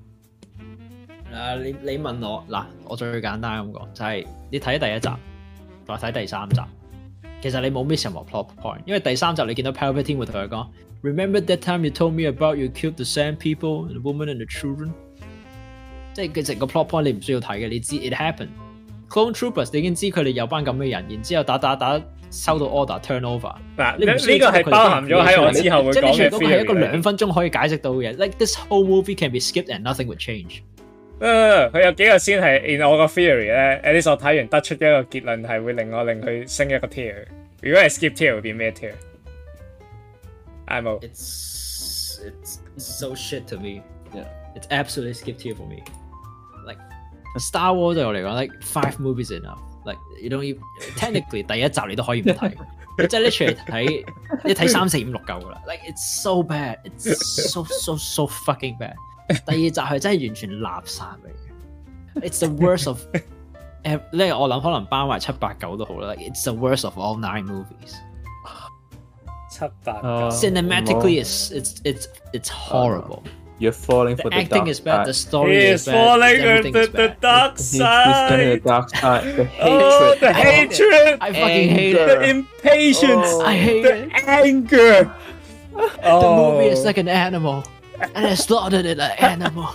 嗱，你你問我嗱，我最簡單咁講就係、是、你睇第一集，再睇第三集，其實你冇 miss 任何 plot point，因為第三集你見到 Palpatine 會同佢講。Remember that time you told me about you killed the sand people, the woman and the children？ 即係佢成個 plot point 你唔需要睇嘅，你知 it happened。Clone Troopers 你已經知佢哋有班咁嘅人，然之後打打打收到 order turn over。 嗱，呢呢個係包含咗喺我之後會講嘅 theory。即係呢個係一個兩分鐘可以解釋到嘅嘢。Like this whole movie can be skipped and nothing would change。 誒，佢有幾個先係 in 我個 theory 咧，at least我睇完得出一個結論係會令我令佢升一個 tier。如果係 skip tier 會變咩 tier？I'm out. It's it's so shit to me. Yeah, it's absolutely skip tier for me. Like Star Wars 對我嚟講 ，like five movies enough. Like you don't even technically 第一集你都可以唔睇，你真係 literally 睇你睇三四五六夠噶啦。Like it's so bad. It's so so so fucking bad. 第二集係真係完全垃圾嚟嘅。It's the worst of. 誒，呢我諗可能包埋七八九都好啦。Like it's the worst of all nine movies. 七八九。 Cinematically, it's it's it's it's horrible. You're falling for the, the acting dark is bad. side. The story He is is bad. falling Everything into is the bad. dark He's going to the side. dark side. The Oh, hatred. the hatred. I fucking hate Anger. The it. impatience. Oh. I hate the it. anger. Oh. The movie is like an animal, and I slaughtered it like an animal.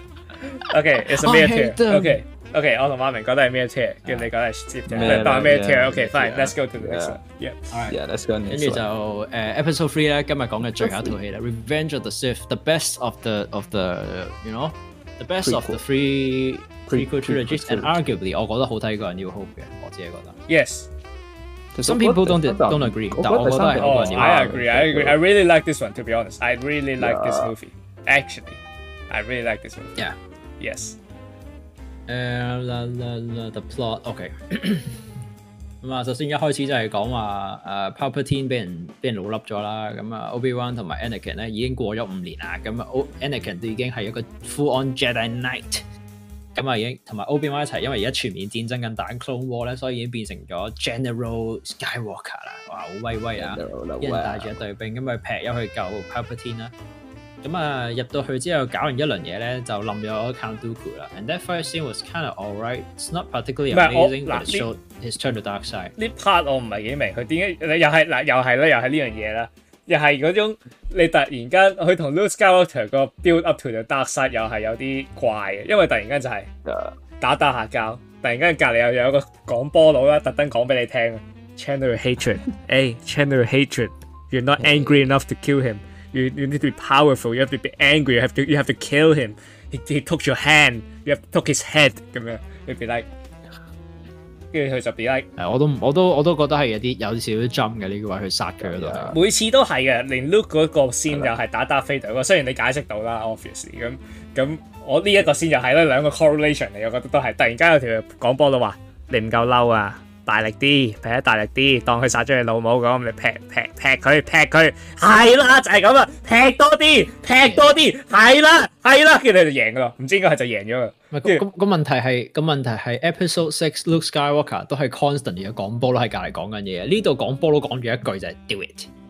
Okay, it's a I mere hate tier. them. Okay, okay， 我同馬明覺得係咩 tier，叫你覺得係接咩嘅，當係咩 tier。OK， yeah, fine， yeah, let's go to the next yeah. one。Yeah， Yeah, let's go 跟住就誒 episode three 咧，今日講嘅最後一套戲啦，《Revenge of the Sith》，the best of the of the you know the best of the three prequel trilogies and arguably 我覺得好睇過《New Hope》嘅，我自己覺得。 Yes。 Some people don't don't agree，但我覺得係好過《New Hope》。 I agree, I agree. I really like this one. To be honest, I really like this movie. Actually, I really like this movie. Yeah. Yes. 誒啦啦啦 the plot OK 咁啊，首先一開始就係講話誒 Palpatine 俾人俾人老笠咗啦，咁啊 Obi-Wan 同埋 Anakin 咧已經過咗五年啦，咁啊 Anakin 都已經係一個 full on Jedi Knight，咁啊已經同埋 Obi-Wan 一齊，因為而家全面戰爭緊打 Clone War 咧，所以已經變成咗 General Skywalker 啦，哇好威威啊！一人帶住一隊兵咁啊劈咗去救 Palpatine 啦。咁啊入到去之後搞完一輪嘢咧，就冧咗 Count Dooku 啦。And that first scene was kind of alright. It's not particularly amazing, but it showed his turn to dark side. 呢 part 我唔係幾明，佢點解又係嗱又係咧，又係呢樣嘢啦，又係嗰種你突然間佢同 Luke Skywalker 個 build up to the dark side 又係有啲怪嘅，因為突然間就係打打下交，突然間隔離又有一個講波佬啦，特登講俾你聽 ，channel your hatred， 誒 channel your hatred，you're not angry enough to kill him。You, you need to be powerful. You have to be angry. You have to you have to kill him. He, he took your hand. You have to took his head 咁樣。你 be like， 跟住佢就 be like， 係我都我都我都覺得係有啲有少少 jump 嘅呢個位去殺佢嗰度。 每次都係嘅，連 Luke 嗰個 scene 又係打 Darth Vader 嗰個。雖然你解釋到啦 ，obviously 咁咁，我呢一個 scene 又係咧兩個 correlation 嚟，我覺得都係突然間有條講波佬話你唔夠嬲啊！大力啲，劈得大力啲，當佢殺咗你老母咁，你劈劈劈佢，劈佢，係啦，就係咁啦，劈多啲，劈多啲，係啦，係啦，跟住你就贏噶啦，唔知應該係就贏咗啦。 唔係，咁個問題係個問題係 Episode Six Luke Skywalker 都係 constantly 嘅講波佬喺隔離講緊嘢，呢度講波佬講住一句就係 do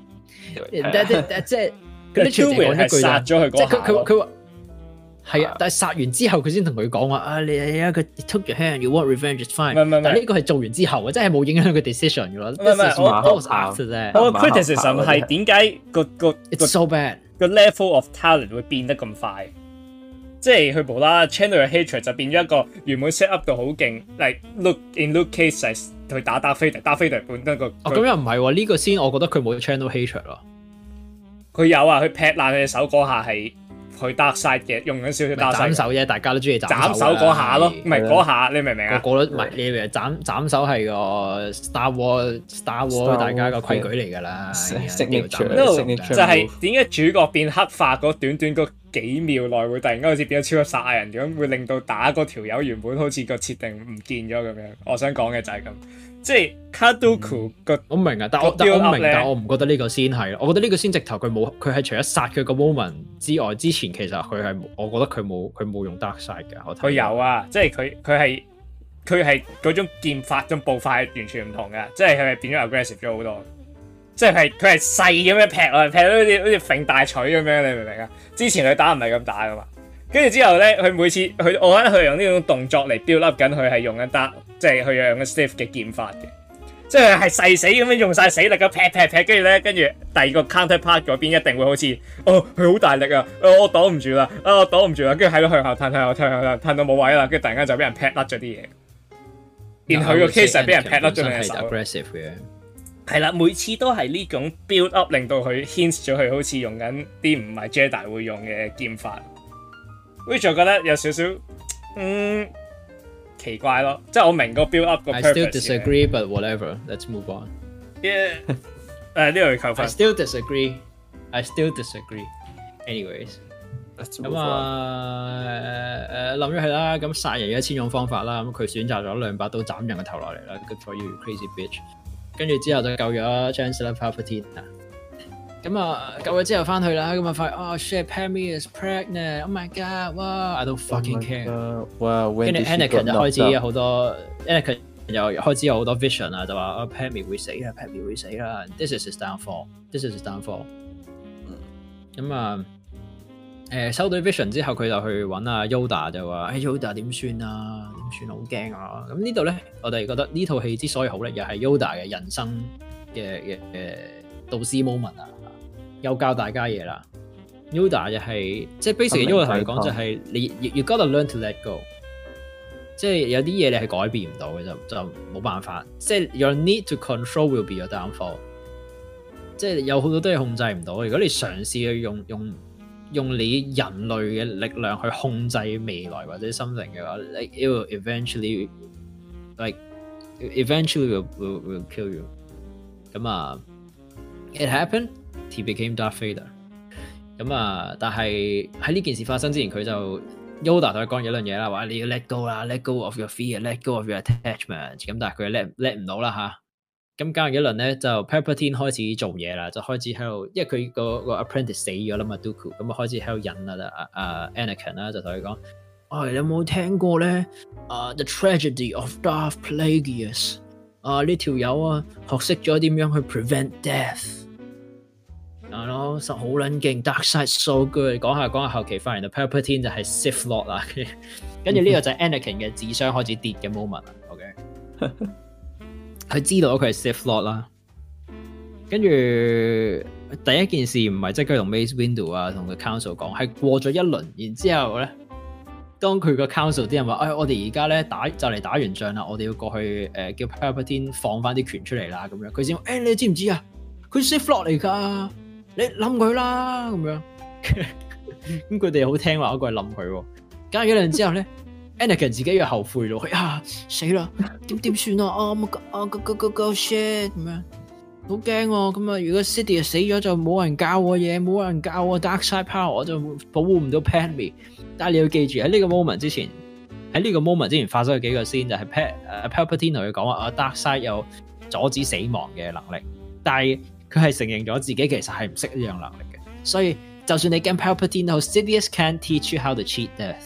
it，但係即係佢啲全部講一句殺咗佢嗰下， 即係佢佢佢話。係啊，但係殺完之後佢先同佢講話啊，你係一個 took your hand，you want revenge is fine。唔係唔係，但係呢個係做完之後嘅，真係冇影響佢 decision 嘅咯。 唔係唔係，我我 after 啫。 我 criticism 係點解個個 it's so bad 個 level of talent 會變得咁快？即係佢無啦啦 channel your hatred 就變咗一個原本 set up 到好勁 ，like look in Luke case 係去打 Darth Vader，Darth Vader 本身個哦咁又唔係喎，呢個先我覺得佢冇 channel hatred 咯。 佢有啊，佢劈爛佢隻手嗰下係。佢 dark side 嘅，用緊少少 dark side 斬手啫，大家都中意斬手嗰下咯，唔係嗰下，你明唔明啊？ 個個都唔係，你以為斬斬手係個 Star War Star War 大家個規矩嚟㗎啦。 就係點解主角變黑化嗰短短嗰幾秒內會突然間好似變咗超級殺亞人咁，會令到打嗰條友原本好似個設定唔見咗咁樣。我想講嘅就係咁。即係 Count Dooku 個， 我明啊，但我但我明，但我唔覺得呢個先係，我覺得呢個先直頭佢冇，佢係除咗殺佢個 moment 之外，之前其實佢係，我覺得佢冇佢冇用 dark side 嘅。 佢有啊，即係佢佢係佢係嗰種劍法種步伐係完全唔同嘅，即係佢係變咗 aggressive 咗好多，即係佢係細咁樣劈落去，劈到好似好似揈大錘咁樣，你明唔明啊？之前佢打唔係咁打噶嘛，跟住之後咧，佢每次佢我覺得佢用呢種動作嚟 build up 緊，佢係用緊 dark。即係佢用緊 Sith 嘅劍法嘅，即係係誓死咁樣用晒死力咁劈劈劈，跟住咧，跟住第二個 counterpart 嗰邊一定會好似哦，佢好大力啊，哦、我擋唔住啦，啊我擋唔住啦，跟住喺度向後褪，向後褪，向後褪，褪到冇位啦，跟住突然間就俾人劈甩咗啲嘢。然後佢個 case 係俾人劈甩咗兩隻手。aggressive 嘅。係啦，每次都係呢種 build up 令到佢 hint 咗佢好似用緊啲唔係 Jedi 會用嘅劍法。which 我覺得有少少嗯。奇怪咯，即係我明個 build up 個 purpose。I still disagree, but whatever. Let's move on. Yeah. 誒呢度要扣分。 I still disagree. I still disagree. Anyways，咁啊誒諗咗係啦，咁殺人有一千種方法啦，咁佢選擇咗兩把刀斬人個頭落嚟啦。Good for you, crazy bitch。跟住之後就救咗 Chancellor Palpatine。咁啊，救咗之後翻去啦，咁啊發現哦 shit Padme is pregnant，oh my god，哇 I don't fucking care。跟住 Anakin 就開始有好多 Anakin 又開始有好多 vision 啊，就話啊 Padme 會死啦 Padme 會死啦 ，this is his downfall，this is his downfall。咁啊，誒收到 vision 之後，佢就去揾阿 Yoda 就話：哎 Yoda 點算啊？點算好驚啊！咁呢度咧，我哋覺得呢套戲之所以好咧，又係 Yoda 嘅人生嘅嘅誒導師 moment 啊，又教大家嘢啦。Yoda 就係、是、即係 basically Yoda 同你講就係你 you, you gotta learn to let go， 即係有啲嘢你係改變唔到嘅，就就冇辦法。即係 your need to control will be your downfall， 即係有好多都係控制唔到。如果你嘗試去用用用你人類嘅力量去控制未來或者 something 嘅話 ，like it will eventually like eventually will will, will kill you。咁啊 ，it happened. He became Darth Vader。咁啊，但係喺呢件事發生之前，佢就 Yoda 同佢講咗一樣嘢啦，話你要 let go 啦 ，let go of your fear，let go of your attachment。咁但係佢 let let 唔到啦吓。咁搞完一輪咧，就 Palpatine 開始做嘢啦，就開始喺度，因為佢個個 apprentice 死咗啦嘛 ，Dooku，咁啊開始喺度引啊啊 Anakin 啦，就同佢講：，哦，你有冇聽過咧？啊、uh, ，The tragedy of Darth Plagueis。啊，呢條友啊，學識咗點樣去 prevent death。啊咯，實好撚勁 ，Dark Side so good。講下講下後期發現到 Palpatine 就係 Sith Lord 啦，跟住呢個就係 Anakin 嘅智商開始跌嘅 moment。OK，佢知道佢係 Sith Lord 啦，跟住第一件事唔係即刻同 Mace Windu 啊同個 Council 講，係過咗一輪，然之後咧，當佢個 Council 啲人話：，哎，我哋而家咧打就嚟打完仗啦，我哋要過去誒、呃、叫 Palpatine 放翻啲權出嚟啦，咁樣佢先，誒、欸，你知唔知啊？佢 Sith Lord 嚟㗎。你冧佢啦咁樣，咁佢哋好聽話，嗰個係冧佢。隔咗兩之後咧 ，Anakin 自己又後悔咯，啊死啦，點點算啊？啊啊個個個個 shit 咁樣，好驚喎！咁啊，如果 Sidious 死咗就冇人教我嘢，冇人教我 Dark Side Power， 我就保護唔到 Padme。但係你要記住喺呢個 moment 之前，喺呢個 moment 之前發生咗幾個先，就係 Pal Palpatine 同佢講話啊 Dark Side 有阻止死亡嘅能力，但係佢係承認咗自己其實係唔識呢樣能力嘅，所以就算你驚 Palpatine 好 Sidious can't teach you how to cheat death。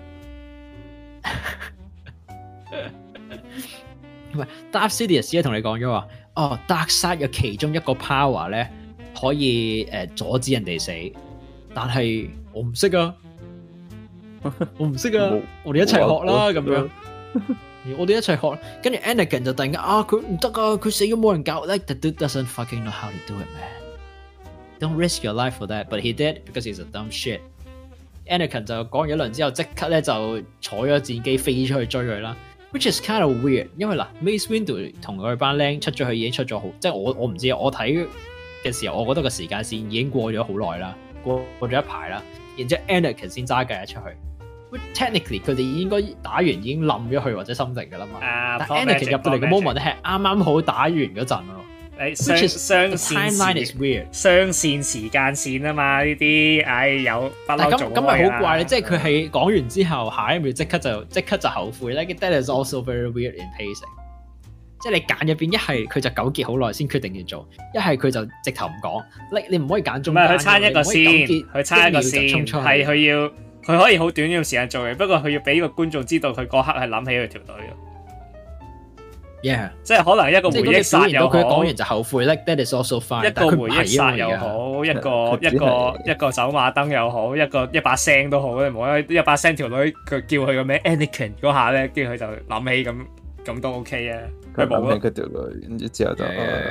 唔係 Darth Sidious 咧同你講咗話，哦 Dark Side 有其中一個 power 咧可以誒、呃、阻止人哋死，但係我唔識啊，我唔識啊，我哋一齊學啦咁樣。我哋一齊學，跟住 Anakin 就突然間啊，佢唔得啊，佢死咗冇人教 ，like the dude doesn't fucking know how to do it, man. Don't risk your life for that, but he did because he's a dumb shit. Anakin 就講完一輪之後，即刻咧就坐咗戰機飛出去追佢啦 ，which is kind of weird。因為嗱 ，Mace Windu 同佢班僆出咗去已經出咗好，即係我我唔知，我睇嘅時候，我覺得個時間線已經過咗好耐啦，過過咗一排啦，然之後 Anakin 先揸計出去。Technically 佢哋應該打完已經冧咗佢或者 something 㗎啦嘛， uh, 但 Anakin 入到嚟嘅 moment 咧係啱啱好打完嗰陣咯。 誒雙雙線雙線時間線啊嘛，呢啲唉有不嬲做開啦。咁咪好怪咧，即係佢係講完之後，下一秒即刻就即刻就後悔咧。That is also very weird in pacing。即係你揀入邊一係佢就糾結好耐先決定要做，一係佢就直頭唔講。你你唔可以揀中間。唔係佢差一個先，佢差一個先，係佢要。佢可以好短嘅時間做嘅，不過佢要俾個觀眾知道佢嗰刻係諗起佢條隊嘅。Yeah， 即係可能一個回憶殺又好，佢講完就後悔咧。That is also fine。一個回憶殺又好，一個一個一個走馬燈又好，一個一把聲都好，你唔好一把聲條女佢叫佢個名 Anakin 嗰下咧，跟住佢就諗起咁咁都 OK 啊。佢諗起嗰條女，跟住之後就。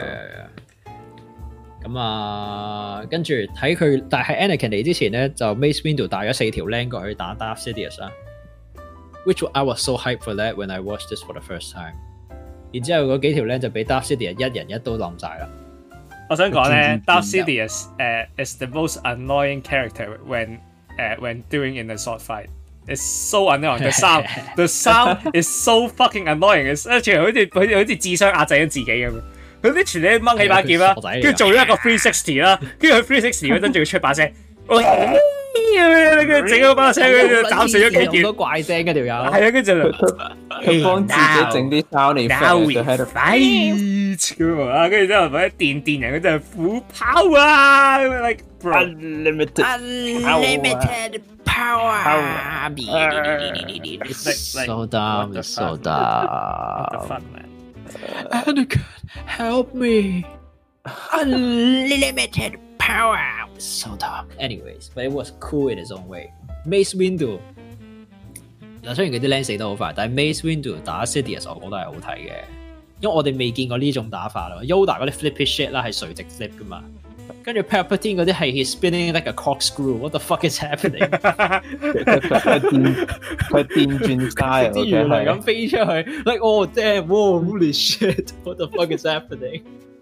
咁啊，跟住睇佢，但係 Anakin 嚟之前咧，就 Mace Windu 帶咗四條僆過去打 Darth Sidious 啦。Which I was so hyped for that when I watched this for the first time。然之後嗰幾條僆就俾 Darth Sidious 一人一刀冧晒啦。我想講咧 ，Darth Sidious 誒、uh, is the most annoying character when 誒、uh, when doing in a sword fight。It's so annoying. The sound, the sound is so fucking annoying。而且好似好似好似智商壓制咗自己咁。佢啲全咧掹起把劍啦，跟住做咗一個三百六十啦，跟住佢三百六十嗰陣仲要出把聲，跟住整咗把聲，跟住斬死咗幾件，好多怪聲嗰條友。係啊，跟住佢幫自己整啲 sound effect 就喺度 fight 咁啊，跟住之後或者電電人嗰陣虎跑啊 ，like unlimited unlimited power， so dumb so dumb。Anakin, help me! Unlimited power. So dumb. Anyways, but it was cool in its own way. Mace Windu 嗱，雖然佢啲靚死得好快，但係 Mace Windu 打 Sidious 我覺得係好睇嘅，因為我哋未見過呢種打法咯。Yoda 嗰啲 flippy shit 啦係垂直 flip 噶嘛，跟住 Palpatine 嗰啲係 he's spinning like a corkscrew. What the fuck is happening? 佢電佢電轉 style， 啲魚係咁飛出去 ，like oh damn, whoa, holy shit! What the fuck is happening?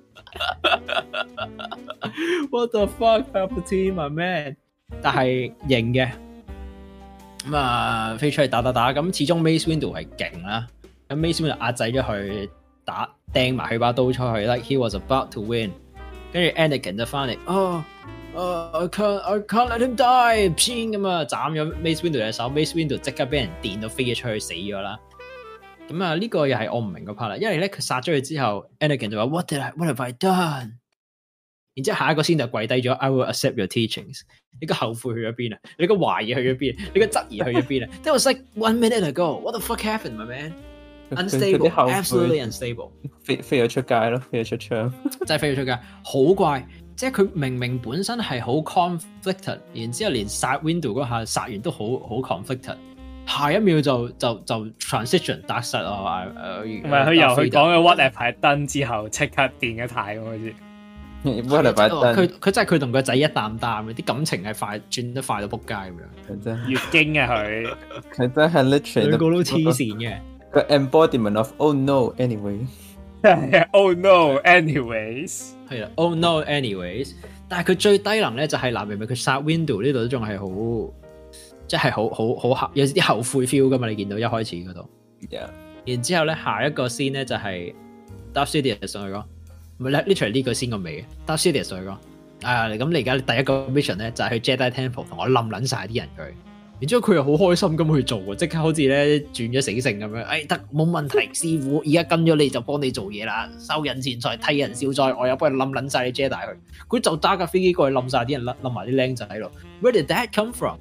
What the fuck, Palpatine, my man? 但係型嘅。咁啊，飛出去打打打，咁始終 Mace Windu 係勁啦。咁 Mace Windu 壓制咗佢，打掟埋佢把刀出去 ，like he was about to win。跟住 Anakin 就翻嚟，哦，哦 ，I can't, I can't let him die，偏咁啊，斬咗 Mace Windu 隻手 ，Mace Windu 即刻俾人電到飛咗出去死咗啦。咁啊，呢個又係我唔明個 part 啦，因為咧佢殺咗佢之後 ，Anakin 就話 What did I, What have I done？然之後下一個先就跪低咗 ，I will accept your teachings。你個後悔去咗邊啊？你個懷疑去咗邊？你個質疑去咗邊啊 ？That was like one minute ago. What the fuck happened, my man? Unstable, absolutely unstable。 飛飛咗出街咯，飛咗出窗， 真係飛咗出街，好怪。即係佢明明本身係好 conflicted， 然之後連殺 Windu 嗰下殺完都好好 conflicted， 下一秒就就就 transition 達實啊！ 唔係佢由佢講嘅 what have I done之後，即刻電一太咁好似。 What have I done？ 佢佢真係佢同個仔一擔擔，啲感情係快轉得快到仆街咁樣。 真月經啊佢， 佢真係 literally 兩個都黐線嘅。 個 embodiment of oh no anyway。Oh no anyways。 係啦 ，Oh no anyways。但係佢最低能咧就係嗱，明明佢殺 Windu 呢度都仲係好，即係好好好有啲後悔 feel 噶嘛？你見到一開始嗰度。 Yeah。 然之後咧，下一個 scene 咧就係 Darth Sidious 上去講。唔係 literally 呢個先個尾嘅 Darth Sidious 上去講啊，咁你而家第一個 mission 咧就係、是、去 Jedi Temple 同我冧撚晒啲人佢，然之後佢又好開心咁去做喎，即刻好似咧轉咗死性咁樣，誒得冇問題，師傅而家跟咗你就幫你做嘢啦，收人錢財替人消災，我又幫你冧撚晒啲 Jedi 佢，佢就揸架飛機過去冧晒啲人，冧埋啲僆仔喺度。Where did that come from?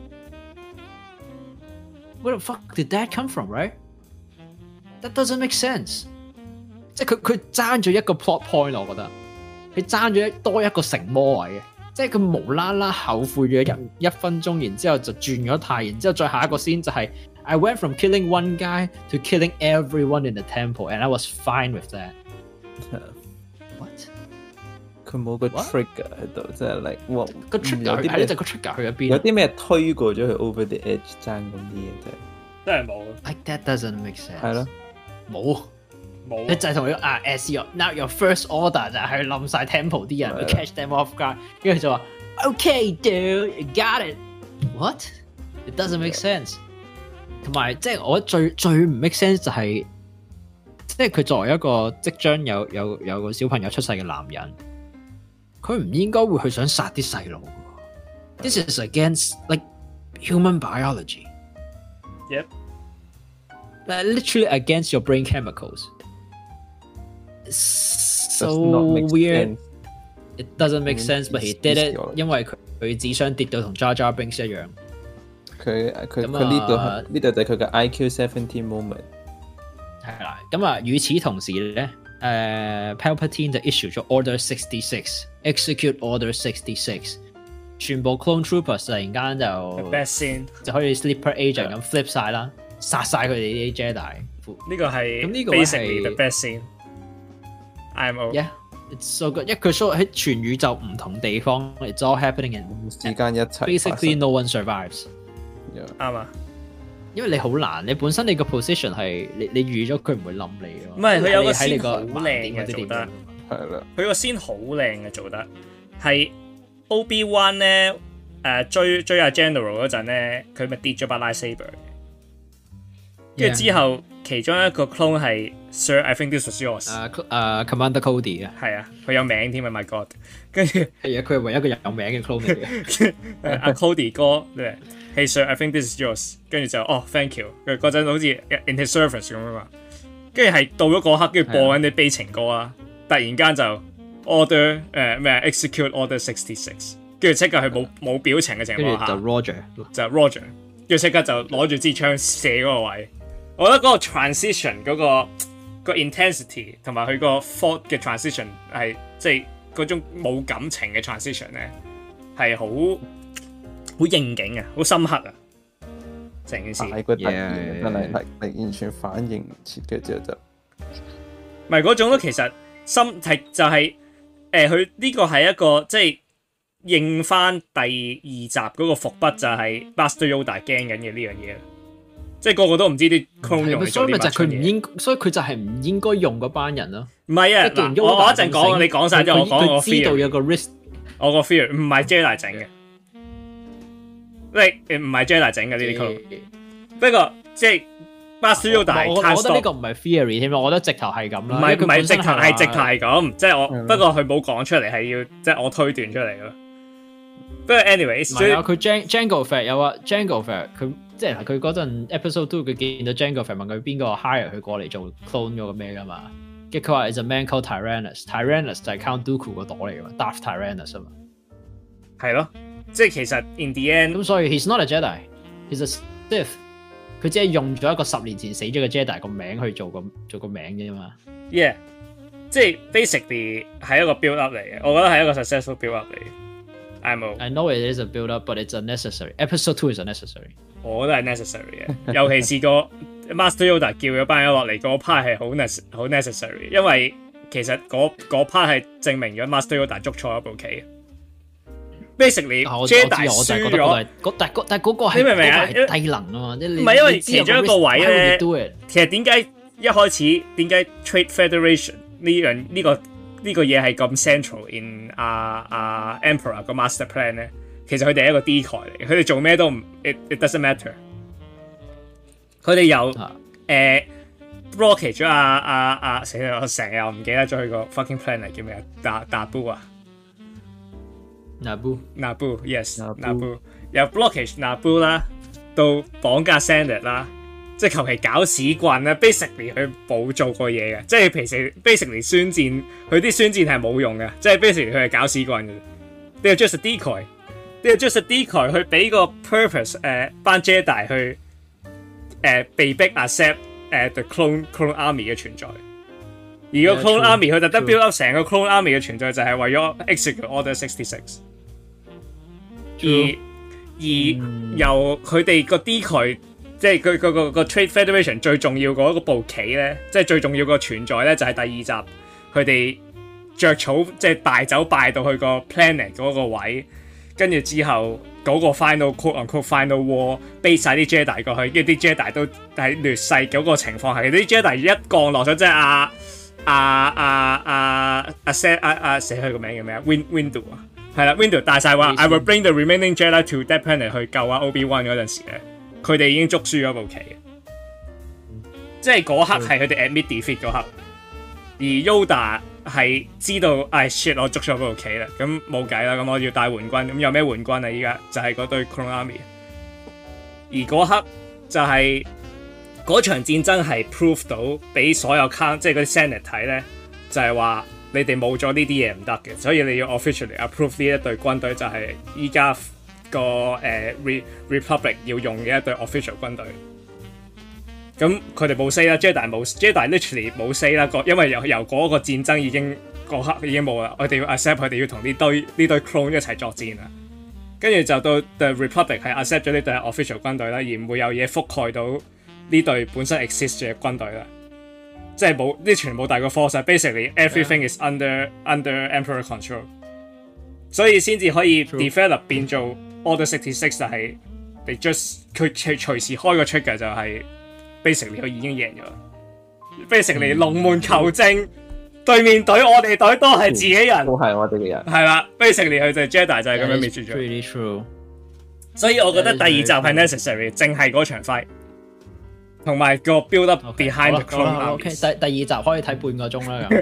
Where the fuck did that come from? Right? That doesn't make sense. 即係佢佢爭咗一個 plot point， 我覺得佢爭咗多一個成魔位嘅，即係佢無啦啦後悔咗一一分鐘，然之後就轉咗態，然之後再下一個先就係 I went from killing one guy to killing everyone in the temple and I was fine with that。What？ 佢冇個 trigger 喺度，即係 like 哇個 trigger 係呢隻個 trigger 去咗邊？ 有啲咩推過咗佢 over the edge 爭咁啲嘢啫？ 真係冇。 Like that doesn't make sense。係咯， 冇。你就係同佢啊 ，as your now your first order 就係去冧晒 temple 啲人，去 catch them off guard， 跟住就話 ，OK dude, you got it。What? It doesn't make sense。同埋即係我最最唔 make sense 就係、是，即係佢作為一個即將有有有個小朋友出世嘅男人，佢唔應該會去想殺啲細路。This is against like human biology。 Yep。 Like, literally against your brain chemicals。So weird. It doesn't make sense, but he did it. 因為佢佢智商跌到同 Jar Jar Binks 一樣。 佢佢佢呢度呢度就係佢嘅 I Q seventeen moment。 係啦，咁啊，與此同時咧，誒 Palpatine 就 issue 咗 Order sixty six, execute Order sixty six， 全部 Clone Troopers 突然間就 best scene 就可以 Sleeper Agent 咁 flip 晒啦，殺晒佢哋啲 Jedi。 呢個係咁呢個 basically the best scene。I M O Yeah, it's so good。因為佢 show 喺全宇宙唔同地方 ，it's all happening in 時間一齊。 Basically, no one survives。 啱啊， 因為你好難，你本身你個 position 係你你預咗佢唔會冧你咯。 唔係佢有個喺你 scene 好靚嘅做得， 係啦。 佢個 scene 好靚嘅做得，係 Obi-Wan 咧誒追追阿 General 嗰陣咧，佢咪跌咗把 lightsaber，跟住之後其中一個 clone 係 Sir, I think this was yours。 誒誒 Commander Cody 啊， 係啊，佢有名添啊 ，My God！ 跟住係啊，佢係唯一一個有名嘅 clone 嚟嘅。 阿 Cody 哥咧 ，Hey Sir, I think this is yours。跟住就哦 ，Thank you。佢嗰陣好似 in his service 咁啊嘛。跟住係到咗嗰刻，跟住播緊啲悲情歌啊，突然間就 order 誒咩 execute order sixty six，跟住即刻係冇冇表情嘅情況下， 就 Roger 就 Roger，跟住即刻就攞住支槍射嗰個位。我覺得嗰個 transition 嗰、嗰個、嗰個 intensity 同埋佢個 thought 嘅 transition 係即係嗰種冇感情嘅 transition 咧，係好好應景啊，好深刻啊！成件事係個突然真係係係完全反應唔切嘅之後就， 唔係嗰種咯。其實心係就係誒，佢呢個係一個即係應翻第二集嗰個伏筆，就係 Master Yoda 驚緊嘅呢樣嘢。即係個個都唔知啲 clone 用嚟做啲乜嘢，所以佢唔應， 所以佢就係唔應該用嗰班人咯。 唔係啊，嗱，我我一陣講，你講晒之後，我講我 fear。知道有個 risk， 我個 fear 唔係 Jedi 整嘅，即係唔係 Jedi 整嘅呢啲 clone。不過即係 Master Yoda， 我我覺得呢個唔係 theory 添，我覺得直頭係咁啦。 唔係唔係直頭係直頭係咁，即係我不過佢冇講出嚟，係要即係我推斷出嚟咯。不過 anyways， 係啊，佢 Jango Fett 有啊 Jango Fett 佢。即係佢嗰陣 episode two 佢見到 Jango Fett 問佢邊個 hire 佢過嚟做 clone 嗰個咩噶嘛，跟住佢話 is a man called Tyrannus，Tyrannus 就係 Count Dooku 個朵嚟噶嘛 ，Darth Tyrannus 啊嘛， 係咯，即係其實 in the end 咁所以 he's not a Jedi，he's a Sith，佢只係用咗一個十年前死咗嘅 Jedi 個名去做個做個名啫嘛 ，yeah， 即係 basically 係一個 build up 嚟嘅，我覺得係一個 successful build up 嚟嘅。I know I know it is a build up，but it's unnecessary. Episode two is unnecessary。 我都係 necessary 嘅，尤其是個 Master Yoda 叫咗班人落嚟嗰 part 係好 nece 好 necessary， 因為其實嗰 part 係證明咗 Master Yoda 捉錯一步棋。Basically，Jedi 輸咗， 但但嗰個係你明唔明啊？ 低能啊嘛，唔係因為其中一個位咧，其實點解一開始點解 Trade Federation 呢樣呢個呢個嘢係咁 central in 啊啊 Emperor 個 master plan 咧？其實佢哋係一個 decoy 嚟嘅，佢哋做咩都唔 it it doesn't matter。佢哋有誒 blockage 咗阿阿阿死啦！我成日我唔記得咗佢個 fucking plan 係叫咩啊？納布啊 ，Naboo Naboo yes Naboo 有 blockage Naboo 啦，到綁架 Senate 啦，即係求其搞屎棍啦。basically 佢冇做過嘢嘅，即係平時 basically 宣戰，佢啲宣戰係冇用嘅，即係 basically 佢係搞屎棍嘅。呢個 just a decoy。呢個 just a decoy 去俾個 purpose 誒、呃、班 Jedi 去誒、呃、被逼 accept 誒、呃、the clone clone army 嘅存在，而個 clone yeah, army 佢特登 build up 成個 clone army 嘅存在就係為咗 execute order sixty six， 而而、嗯、由佢哋個 decoy 即係佢佢個個 Trade Federation 最重要嗰部棋咧，即係最重要個存在咧就係第二集佢哋著草即係大走敗到去個 planet 嗰個位。跟住之後嗰、那個 final quote on quote final war， base 晒啲 Jedi 過去，跟住啲 Jedi 都係劣勢嗰個情況係啲 Jedi 一降落咗，即係阿阿阿阿阿 set 阿阿寫佢個名叫咩啊 ？Win Windu 啊，係啦 ，Windu 大晒話 I will bring the remaining Jedi to that planet 去救阿 Obi-Wan 嗰陣時咧，佢哋已經捉輸咗部棋，即係嗰刻係佢哋 admit defeat 嗰刻，而 Yoda。係知道，唉 shit！我捉咗嗰部棋啦，咁冇計啦，咁我要帶援軍，咁有咩援軍啊？依家就係嗰堆 Clone Army， 而嗰刻就係、是、嗰場戰爭係 prove 到俾所有 count 即係嗰啲 Senate 睇咧，就係、是、話你哋冇咗呢啲嘢唔得嘅，所以你要 officially approve 呢一隊軍隊就係依家個誒 Re Republic 要用嘅一隊 official 軍隊。咁佢哋冇 say 啦 ，Jedi 冇 Jedi literally 冇 say 啦，因為由由嗰個戰爭已經嗰刻已經冇啦，我哋要 accept 佢哋要同呢堆呢堆 clone 一齊作戰啦。跟住就到 The Republic 係 accept 咗呢隊 official 軍隊啦，而唔會有嘢覆蓋到呢隊本身 exist 嘅軍隊啦。即係冇呢全冇大個 force，basically everything is under under Emperor control， 所以先至可以 develop 變做 Order sixty six 就係你 just 佢隨隨時開個 trigger 就係。basically 佢已經贏咗 ，basically 龍門求證，對面隊我哋隊都係自己人， 都係我哋嘅人， 係啦 ，basically 佢就 Jedi 就係咁樣滅絕咗。 Pretty true。 所以我覺得第二集係 necessary，淨係嗰場 fight， 同埋個 build up behind the clone armies。第第二集可以睇半個鐘啦。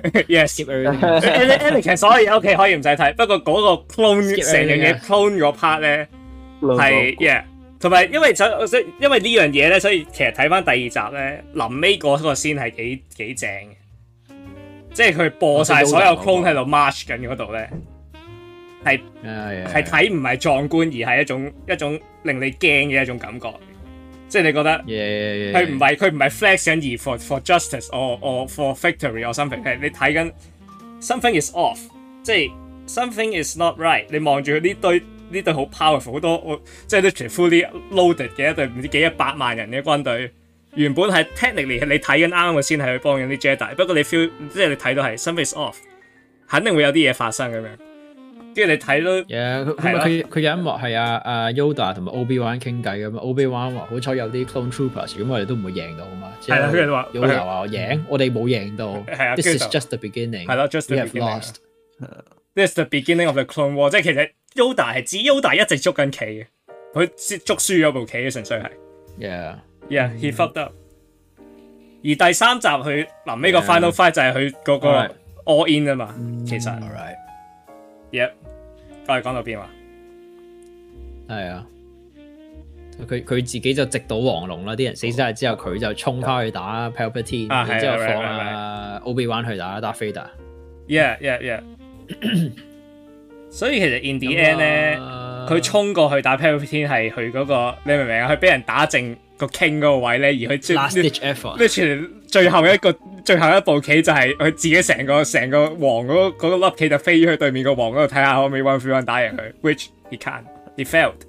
Yes，Anakin 所以 OK 可以唔使睇，不過嗰個 clone 成樣嘢 clone 嗰 part 咧係 yeah， 同埋因為因為呢樣嘢咧，所以其實睇翻第二集咧，臨尾嗰個先係幾幾正嘅，即係佢播晒所有 clone 喺度 march 緊嗰度咧，係係睇唔係壯觀，而係一種一種令你驚嘅一種感覺。即係你覺得佢唔係佢唔係 flex 緊而 for for justice or or for victory or something， 係你睇緊 something is off， 即係 something is not right。你望住佢呢堆呢隊好 powerful 好多，即係 literally fully loaded 嘅一隊唔知幾一百萬人嘅軍隊，原本係 technically 你睇緊啱嘅先係去幫緊啲 Jedi， 不過你 feel 即係你睇到係 something is off， 肯定會有啲嘢發生咁樣。跟住你睇到， 佢佢佢有一幕係阿阿 Yoda 同埋 Obi-Wan 傾偈咁啊 Obi-Wan 話好彩有啲 clone troopers， 咁我哋都唔會贏到啊嘛。 係啦，跟住話 Yoda 話我贏，我哋冇贏到。 係啊 ，This is just the beginning。 係咯 ，just the beginning。This is the beginning of the clone war， 即係其實 Yoda 係指 Yoda 一直捉緊棋嘅，佢捉輸咗部棋嘅，純粹係。Yeah，yeah，he fucked up。而第三集佢臨尾個 final fight 就係佢嗰個 all in 啊嘛，其實。Yep， 我哋講到邊話？ 係啊，佢佢自己就直搗黃龍啦，啲人死晒之後，佢就衝翻去打 Palpatine，、啊、然之後放阿 Obi-Wan 去打 Darth Vader。Yeah yeah yeah。所以其實 in the end 咧，佢衝過去打 Palpatine 係佢嗰個，你明唔明啊？佢俾人打正個 King 嗰個位咧，而佢 last ditch effort， 即係最後一個。最後一步棋就係佢自己成個成個王嗰嗰粒棋就飛去對面個王嗰度睇下可唔可以 one v one 打贏佢 ，which he can't， he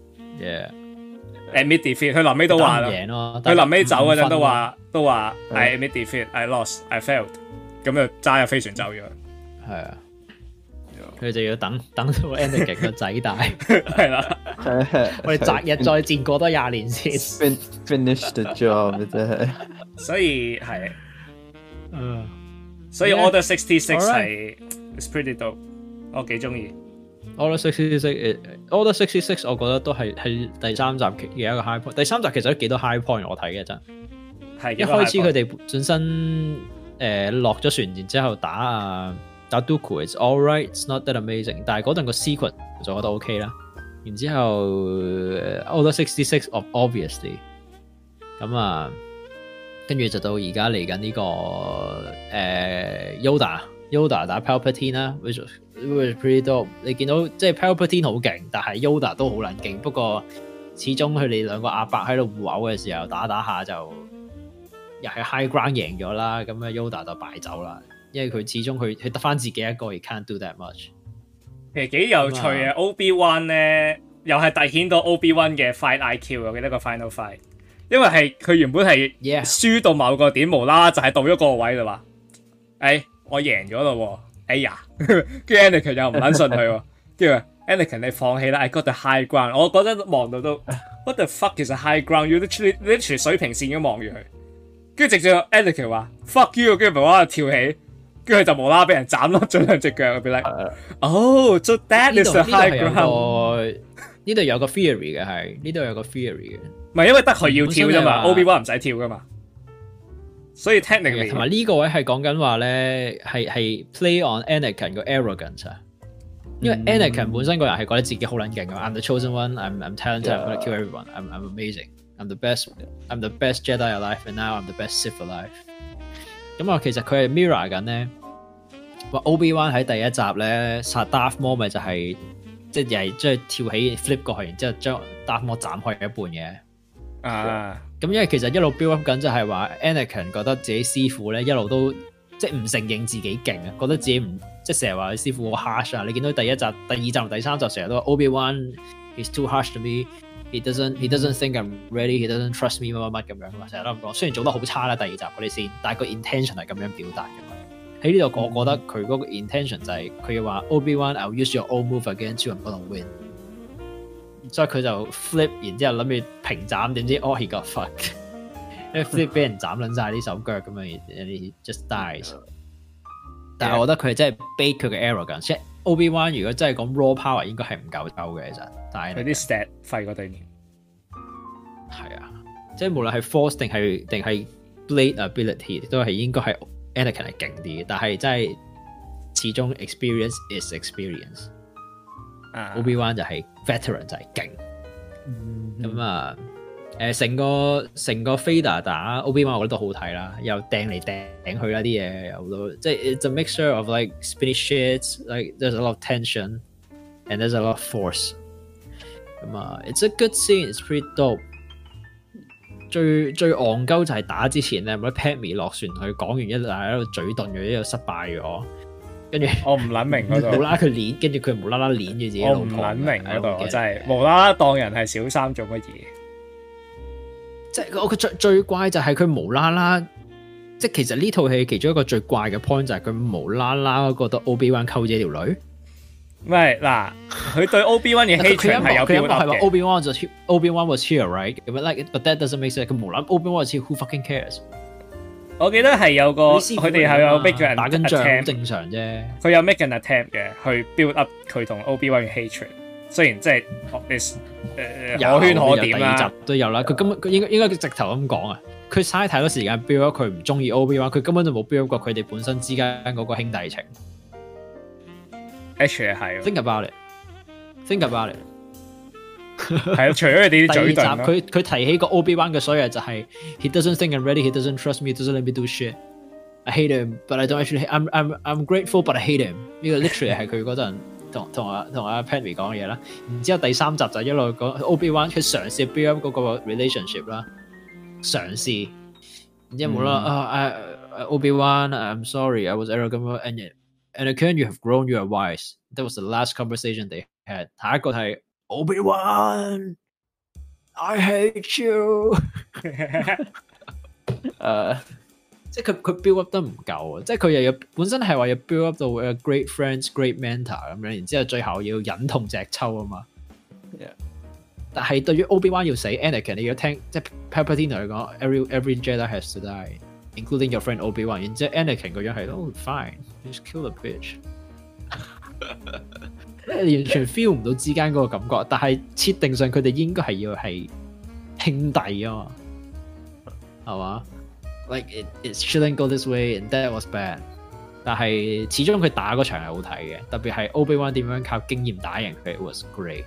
failed。Yeah，admit defeat， 佢臨尾都話啦，佢臨尾走嗰陣都話都話 I admit defeat，I lost，I failed， 咁就揸入飛船走咗。 係啊，佢就要等等到 Anakin 個仔大， 係啦， 我哋擇日再戰過多廿年先 finish the job 真係， 所以係。 嗯， uh, 所以 Order sixty-six 係 it's pretty dope， 我幾中意。 Order sixty-six，Order sixty-six 我覺得都係係第三集嘅一個 high point。第三集其實都幾多 high point 我睇嘅真。係一開始佢哋本身誒落咗船，然之後打啊打 Dooku，it's alright，it's not that amazing。但係嗰陣個 sequence 就覺得 OK 啦。然之後 Order sixty-six obviously 咁啊。跟住就到而家嚟緊呢個誒、呃、Yoda Yoda 打 Palpatine 啦 which was pretty dope。你見到即係 Palpatine 好勁，但係 Yoda 都好撚勁。不過始終佢哋兩個阿伯喺度互毆嘅時候打打下就又係 high ground 贏咗啦。咁啊 Yoda 就敗走啦，因為佢始終佢佢得翻自己一個，he can't do that much。 其實幾有趣嘅、嗯、Obi-Wan 咧，又係凸顯到 Obi-Wan 嘅 fight I Q。我記得個 final fight。因為係佢原本係輸到某個點，無啦啦就係到咗個位啦話，誒、哎、我贏咗咯，哎呀，跟住 Anakin 又唔撚信佢，跟住 Anakin 你放棄啦 ，I got the high ground。我覺得望到都 what the fuck is a high ground？ 要 literally literally 水平線咁望住佢，跟住直接 Anakin 話 fuck you， 跟住無啦啦跳起，跟住就無啦啦俾人斬落咗兩隻腳，俾你，哦，so that is the high ground。 呢度有個 theory 嘅係，呢度有個 theory 嘅。 唔係因為得佢要跳啫嘛 ，Obi-Wan 唔使跳噶嘛，所以 technically 同埋呢個位係講緊話咧，係係 play on Anakin 個 arrogance 啊，因為 Anakin 本身個人係覺得自己好撚勁嘅 ，I'm the chosen one，I'm I'm talented，I'm gonna kill everyone，I'm I'm amazing，I'm the best，I'm the best Jedi alive，and now I'm the best Sith alive。咁啊，其實佢係 mirror 緊咧，話 Obi-Wan 喺第一集咧殺 Darth Maul 咪就係即係又係即係跳起 flip 過去，然之後將 Darth Maul 斬開一半嘅。啊！咁因為其實一路 build up 緊就係話 Anakin 覺得自己師傅咧一路都即係唔承認自己勁啊，覺得自己唔即係成日話佢師傅好 harsh 啊。你見到第一集、第二集同第三集成日都話 Obi-Wan is too harsh to me，he doesn't he doesn't think I'm ready，he doesn't trust me 乜乜乜咁樣嘛，成日都咁講。雖然做得好差啦第二集嗰啲先，但係個 intention 係咁樣表達嘅嘛。喺呢度我覺得佢嗰個 intention 就係佢要話 Obi-Wan，I'll use your old move against you，I'm gonna win。所以佢就 flip， 然之後諗住平斬，點知 oh he got fuck， 因為 flip 俾人斬撚晒啲手腳咁啊，人哋 just dies。但係我覺得佢真係 bait 佢嘅 arrogance， 即係 Obi-Wan 如果真係講 raw power 應該係唔夠抽嘅其實，但係佢啲 stat 廢過對面。 係啊， 即係無論係 Force 定係定係 Blade ability 都係應該係 Anakin 係勁啲嘅，但係真係始終 experience is experience。Uh, Obi-Wan 就係 veteran 就係勁。咁、mm-hmm. 啊，誒成個成個 Vader 打 Obi-Wan 我覺得都好睇啦，又掟嚟掟去啦啲嘢，有好多即係 it's a mixture of like spinny shits，like there's a lot of tension and there's a lot of force。咁啊 ，it's a good scene，it's pretty dope。最最戇鳩就係打之前咧，咪 Padme 落船去講完一大喺度嘴遁咗，之後失敗咗。跟住我唔撚明嗰度， 無啦啦佢鏈，跟住佢無啦啦鏈住自己老婆。我唔撚明嗰度，我真係無啦啦當人係小三做乜嘢？ 即係我佢最最怪就係佢無啦啦，即係其實呢套戲其中一個最怪嘅 point 就係佢無啦啦覺得 Obi-Wan 溝咗條女。 唔係嗱，佢對 Obi-Wan 嘅 hatred 係有 build up 嘅。 Obi-Wan 就 Obi-Wan was here, right? But like, but that doesn't make sense. 佢無啦 Obi-Wan was here, who fucking cares? 我記得係有個佢哋係有 make 人打緊仗， 好正常啫。 佢有 make 人 attempt 嘅，去 build up 佢同 Obi-Wan 嘅 hatred。雖然即係誒誒可圈可點啦，第二集都有啦。佢根本佢應該應該直頭咁講啊。佢嘥太多時間 build up 佢唔中意 Obi-Wan， 佢根本就冇 build up 過佢哋本身之間嗰個兄弟情。 Actually 係。 Think about it. Think about it。 係啊，除咗佢哋啲嘴遁， 佢佢提起個 Obi-Wan 嘅所有就係 He doesn't think I'm ready, he doesn't trust me, he doesn't let me do shit. I hate him, but I don't actually. I'm I'm I'm grateful, but I hate him. 呢個 literally 係佢嗰陣同同阿同阿 Padme 講嘅嘢啦。然之後第三集就一路講 Obi-Wan 佢嘗試 build up 嗰個 relationship 啦，嘗試。然之後冇啦啊，Obi-Wan, I'm sorry, I was arrogant, and Anakin, you have grown, you are wise. That was the last conversation they had. 下一個係 Obi-Wan, I hate you 。誒，即係佢佢 build up 得唔夠啊！即係佢又有本身係話要 build up 到 a great friends, great mentor 咁樣，然之後最後要忍痛隻抽啊嘛。Yeah. 但係對於 Obi-Wan 要死 ，Anakin 你要聽，即係 Palpatine 嚟講 ，every every Jedi has to die, including your friend Obi-Wan。然之後 Anakin 個樣係，oh fine, just kill the bitch。完全 feel 唔到之間嗰個感覺，但係設定上佢哋應該係要係兄弟啊嘛，係嘛 ？Like it it shouldn't go this way and that was bad。但係始終佢打嗰場係好睇嘅，特別係 Obi-Wan 點樣靠經驗打贏佢 ，it was great。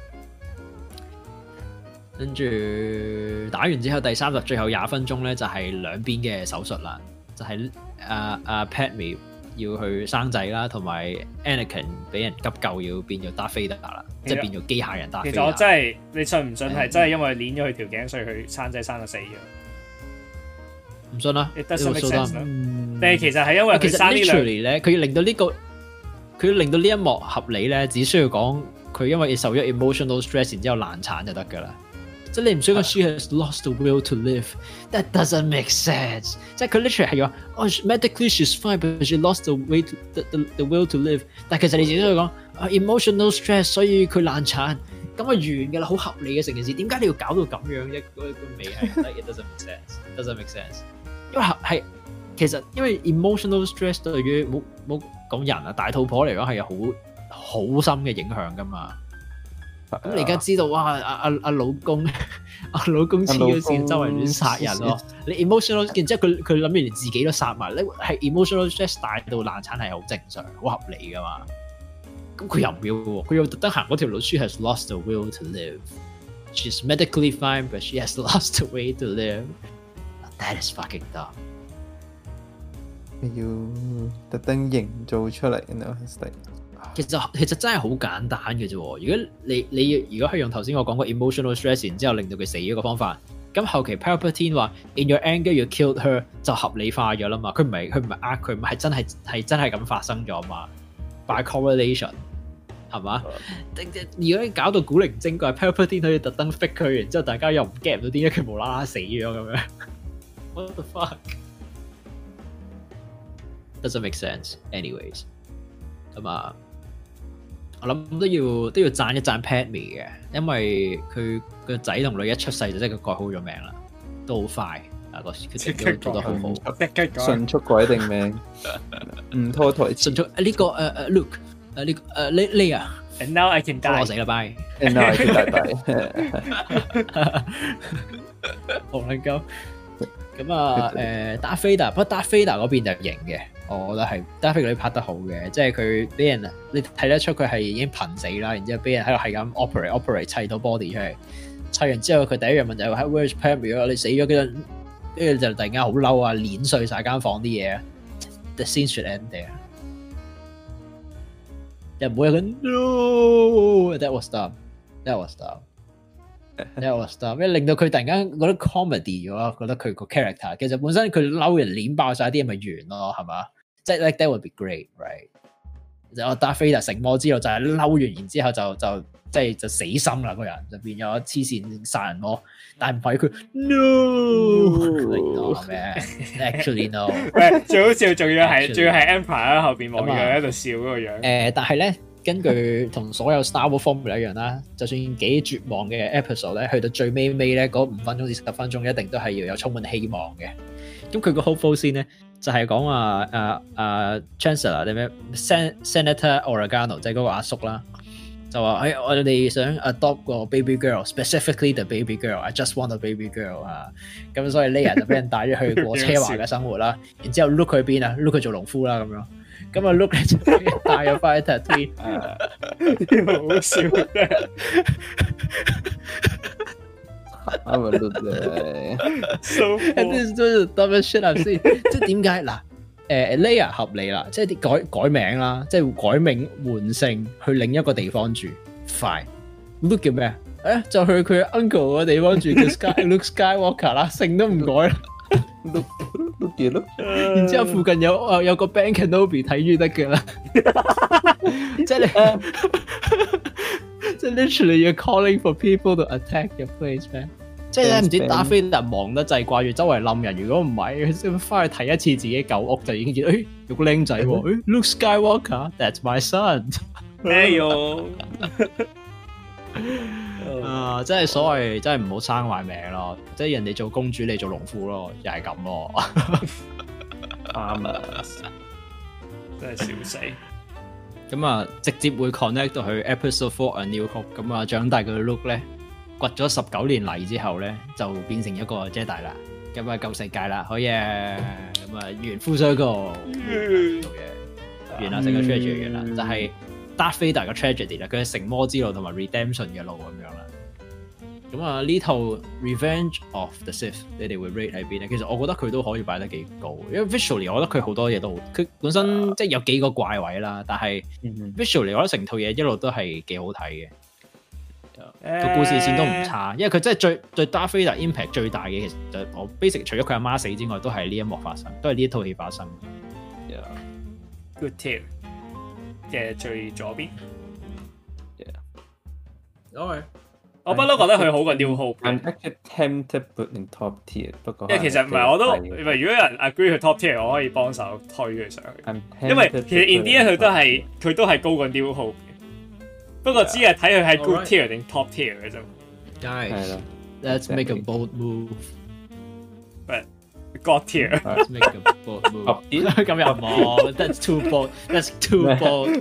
跟住打完之後，第三集最後廿分鐘咧就係、是、兩邊嘅手術啦，就係阿阿 Padme 要去生仔啦，同埋 Anakin 俾人急救要變做 Darth Vader 啦，即係變做機械人 Darth Vader。其實我真係你信唔信係真係因為捏咗佢條頸，所以佢生仔生到死咗？ 唔信啦， 你得信 make sense 但係其實係因為佢生呢兩咧，佢要令到呢、這個佢要令到呢一幕合理咧，只需要講佢因為受咗 emotional stress， 然之後難產就得㗎啦。即係你唔需要講 she has lost the will to live，that doesn't make sense。即係佢 literally 係話，哦 medically she's fine，but she lost the way to the the, the will to live。但係其實你只需要講啊 emotional stress， 所以佢難產，咁啊完㗎啦，好合理嘅成件事。點解你要搞到咁樣一個個尾係？It doesn't make sense，doesn't make sense。因為係其實因為 emotional stress 對於冇冇講人啊大肚婆嚟講係有好好深嘅影響㗎嘛。咁你而家知道哇阿阿阿老公阿老公黐咗線，周圍亂殺人咯。你 emotional， 然之後佢佢諗住連自己都殺埋，你係 emotional stress 大到難產係好正常，好合理噶嘛。咁佢又唔要喎，佢又特登行嗰條路。She has lost the will to live. She's medically fine, but she has lost the way to live. That is fucking dumb. 要特登營造出嚟，然後係其實其實真係好簡單嘅啫。如果你你如果係用頭先我講過 emotional stress， 然之後令到佢死咗個方法，咁後期 Palpatine 話 in your anger you killed her 就合理化咗啦嘛。佢唔係佢唔係呃佢，唔係真係係真係咁發生咗嘛。By correlation 係嘛？如果你搞到古靈精怪 ，Palpatine 可以特登 fix 佢，然之後大家又唔 get 唔到點解佢無啦啦死咗咁樣。What the fuck? Doesn't make sense. Anyways， 咁啊。我諗都要都要讚一讚 Padme 嘅，因為佢個仔同女一出世就即係佢改好咗名啦，都好快啊個決定都做得好好， 迅速改定名，唔拖台詞。 迅速呢、這個誒誒、uh, Luke 誒呢誒 Leia And now I can die。 我死啦，bye。 And now I can die。 好撚鳩。咁啊，誒 Darth Vader，不過 Darth Vader 嗰邊就型嘅，我覺得係 Darth Vader 嗰啲拍得好嘅，即係佢俾人你睇得出佢係已經瀕死啦，然之後俾人喺度係咁 operate operate 砌到 body 出嚟，砌完之後佢第一樣問就係話 Where's Padme？你死咗嗰陣，跟住就突然間好嬲啊，碾碎晒間房啲嘢。The scene should end there。又唔會有個 No，that was dumb，that was dumb。That was dumb，因為令到佢突然間覺得 comedy 咗，覺得佢個 character 其實本身佢嬲人碾爆晒啲嘢咪完咯，係嘛？即係 like that would be great，right？ 就 Darth Vader 成魔之後就係嬲完，然之後就就即係就死心啦，個人就變咗黐線殺人魔，但係唔係佢 No， 咩 ？Actually no， 最好笑仲要係仲要係 Empire 喺後邊望住佢喺度笑嗰個樣。 誒，但係咧。根據同所有 Star Wars formula 一樣啦，就算幾絕望嘅 episode 咧，去到最尾尾咧嗰五分鐘至十分鐘，一定都係要有充滿希望嘅。咁佢個 hopeful scene 咧，就係講話誒誒 Chancellor 定咩 Senator Organa 即係嗰個阿叔啦，就話誒、哎、我哋想 adopt 個 baby girl，specifically the baby girl，I just want a baby girl 啊。咁所以 Leia 就俾人帶咗去過奢華嘅生活啦，然之後 Luke 去邊啊 ？Luke 去做農夫啦咁樣。咁啊 ，Luke 咧就俾人帶咗翻去 Tatooine， 好笑嘅。 啱啊，Luke 咧。 So and this is the dumbest shit I've seen。即係點解嗱？誒 Leia 合理啦，即係啲改改名啦，即係改名換姓去另一個地方住。Fine。Luke 叫咩？誒就去佢 uncle 嘅地方住，叫 Sky Luke Skywalker 啦，姓都唔改啦。 Look look 嘢咯， 然之後附近有有個 Ben Kenobi 睇住得㗎啦，即係你，即係 literally you're calling for people to attack your place man， 即係咧唔知 Darth Vader 忙得滯掛住周圍冧人，如果唔係佢翻去睇一次自己舊屋就已經見到，誒有個僆仔喎，誒 Luke Skywalker，that's my son， 哎呦。 啊！真係所謂，真係唔好生壞命咯。即係人哋做公主，你做農夫咯，又係咁咯。 啱啊！ 真係笑死。 咁啊，直接會 connect 到去 Episode Four A New Hope。咁啊，長大嘅 Luke 咧，掘咗十九年泥之後咧，就變成一個 Jedi 啦。咁啊，救世界啦，好嘢！咁啊，完 full circle，做嘢完啦，成個 trilogy 完啦，就係 Darth Vader 嘅 tragedy 啦，佢係成魔之路同埋 redemption 嘅路咁樣啦。咁啊，呢套 Revenge of the Sith 你哋會 rate 喺邊咧？其實我覺得佢都可以擺得幾高，因為 visually 我覺得佢好多嘢都好，佢本身、uh, 即係有幾個怪位啦，但係 visually 我覺得成套嘢一路都係幾好睇嘅，個、uh, 故事線都唔差，因為佢真係最對 Darth Vader impact 最大嘅，其實就我 basic 除咗佢阿媽死之外，都係呢一幕發生，都係呢一套戲發生。 Yeah. Good tier 嘅最左邊。 Yeah. Alright. 我不嬲覺得佢好過 New Hope。 I'm actually tempted put in top tier，不過因為其實唔係我都，唔係如果有人 agree 佢 top tier，我可以幫手推佢上去。因為其實 in the end 佢都係佢都係高過 New Hope 嘅，不過只係睇佢係 good tier 定 top tier 嘅啫。 Guys, let's make a bold move. But God tier. Let's make a bold move. 咁又冇 ，That's too bold. That's too bold.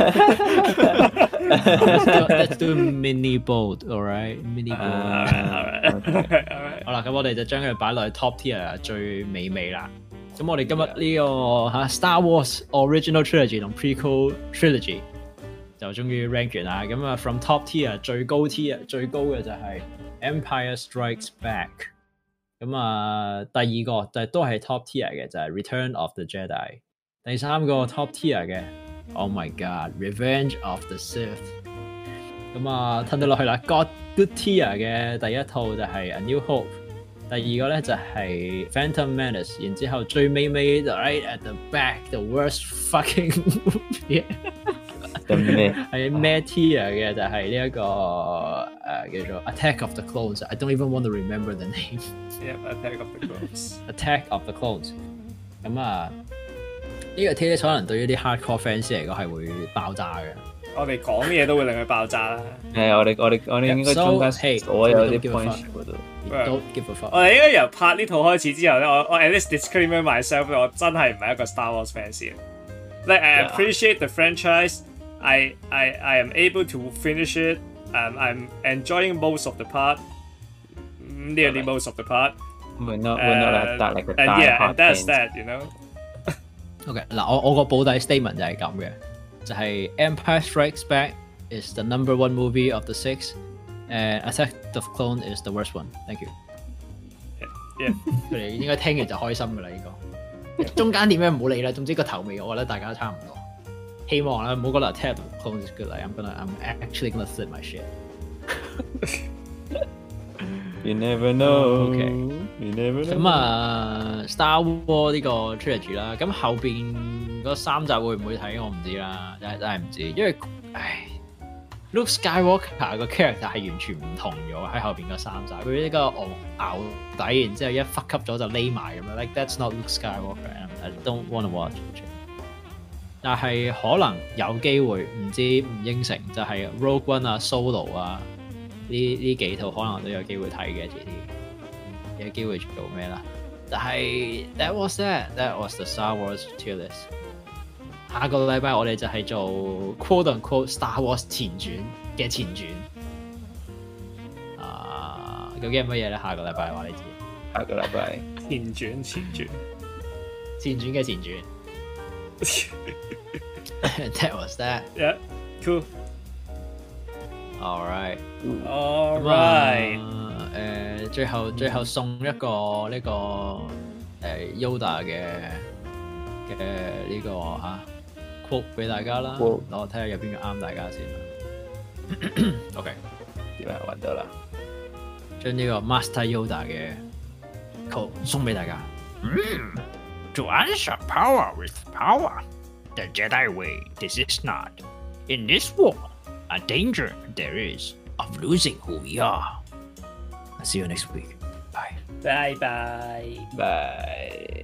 let's, do, let's do mini bold, alright? Mini bold. Alright, alright, alright. 好啦，咁我哋就將佢擺落去 top tier 最美味啦。咁我哋今日呢、這個嚇 Star Wars Original Trilogy 同 Prequel Trilogy 就終於 rank 完啦。咁啊 from top tier 最高 tier 最高嘅就係 Empire Strikes Back。咁啊，第二個就係都係 top tier 嘅就係 Return of the Jedi。第三個 top tier 嘅。Oh my God! Revenge of the Sith。咁啊，褪到落去啦。God Good Tier 嘅第一套就係 A New Hope， 第二個咧就係 Phantom Menace， 然之後最尾尾就 right at the back the worst fucking movie 係咩 tier 嘅就係呢一個誒、呃、叫做 Attack of the Clones。I don't even want to remember the name。 Yeah, Attack of the Clones。 Attack of the Clones。咁啊。呢、這個 tier 可能對於啲 hardcore fans 嚟講係會爆炸嘅。 我哋講嘢都會令佢爆炸啦。 係我哋我哋我哋應該中間所有啲 point 嗰度。 都 give a fuck。 我哋應該由拍呢套開始之後咧，我我 at least disclaimer myself， 我真係唔係一個 Star Wars fans 嘅。Like I appreciate the franchise， I I I am able to finish it. Um, I'm enjoying most of the part, nearly Right. most of the part. We're not we're not Uh, that like a and die yeah, hard and that's fans. that, you know. OK 嗱，我我個保底 statement 就係咁嘅，就係 Empire Strikes Back is the number one movie of the six, and Attack of Clone is the worst one. Thank you. Yeah. 佢哋應該聽完就開心㗎啦，呢個中間點樣唔好理啦，總之個頭尾我覺得大家都差唔多。希望啦，唔好覺得 Attack of Clone is good. Like, I'm gonna, I'm actually gonna flip my shit. You never know. OK You never know. 咁啊，Star Wars 呢個 trilogy 啦，咁後邊嗰三集會唔會睇我唔知啦，真係真係唔知，因為唉 ，Luke Skywalker 個 character 係完全唔同咗喺後邊嗰三集，佢呢個牛牛底，然之後一忽吸咗就匿埋咁樣 ，like that's not Luke Skywalker. I don't want to watch. 但係可能有機會，唔知唔應承就係 Rogue One 啊、Solo 啊。呢呢幾套可能都有機會睇嘅，遲啲有機會做咩啦？但係 that was that that was the Star Wars tier list。下個禮拜我哋就係做 quote unquote Star Wars 前傳嘅前傳。啊，究竟係乜嘢咧？下個禮拜話你知。 下個禮拜前傳前傳前傳嘅前傳。That was that. Yeah, cool. All right. All 咁 right. 啊，誒，最後最後送一個呢個誒 Yoda 嘅嘅呢個嚇 quote 俾大家啦， Quote 我睇下有邊個啱大家先。OK， 點啊？揾到啦！ 將呢個 Master Yoda 嘅 quote 送俾大家。Mm, to answer power with power, the Jedi way. This is not. In this war, a danger there is of losing who we are. I'll see you next week. Bye. Bye bye. Bye.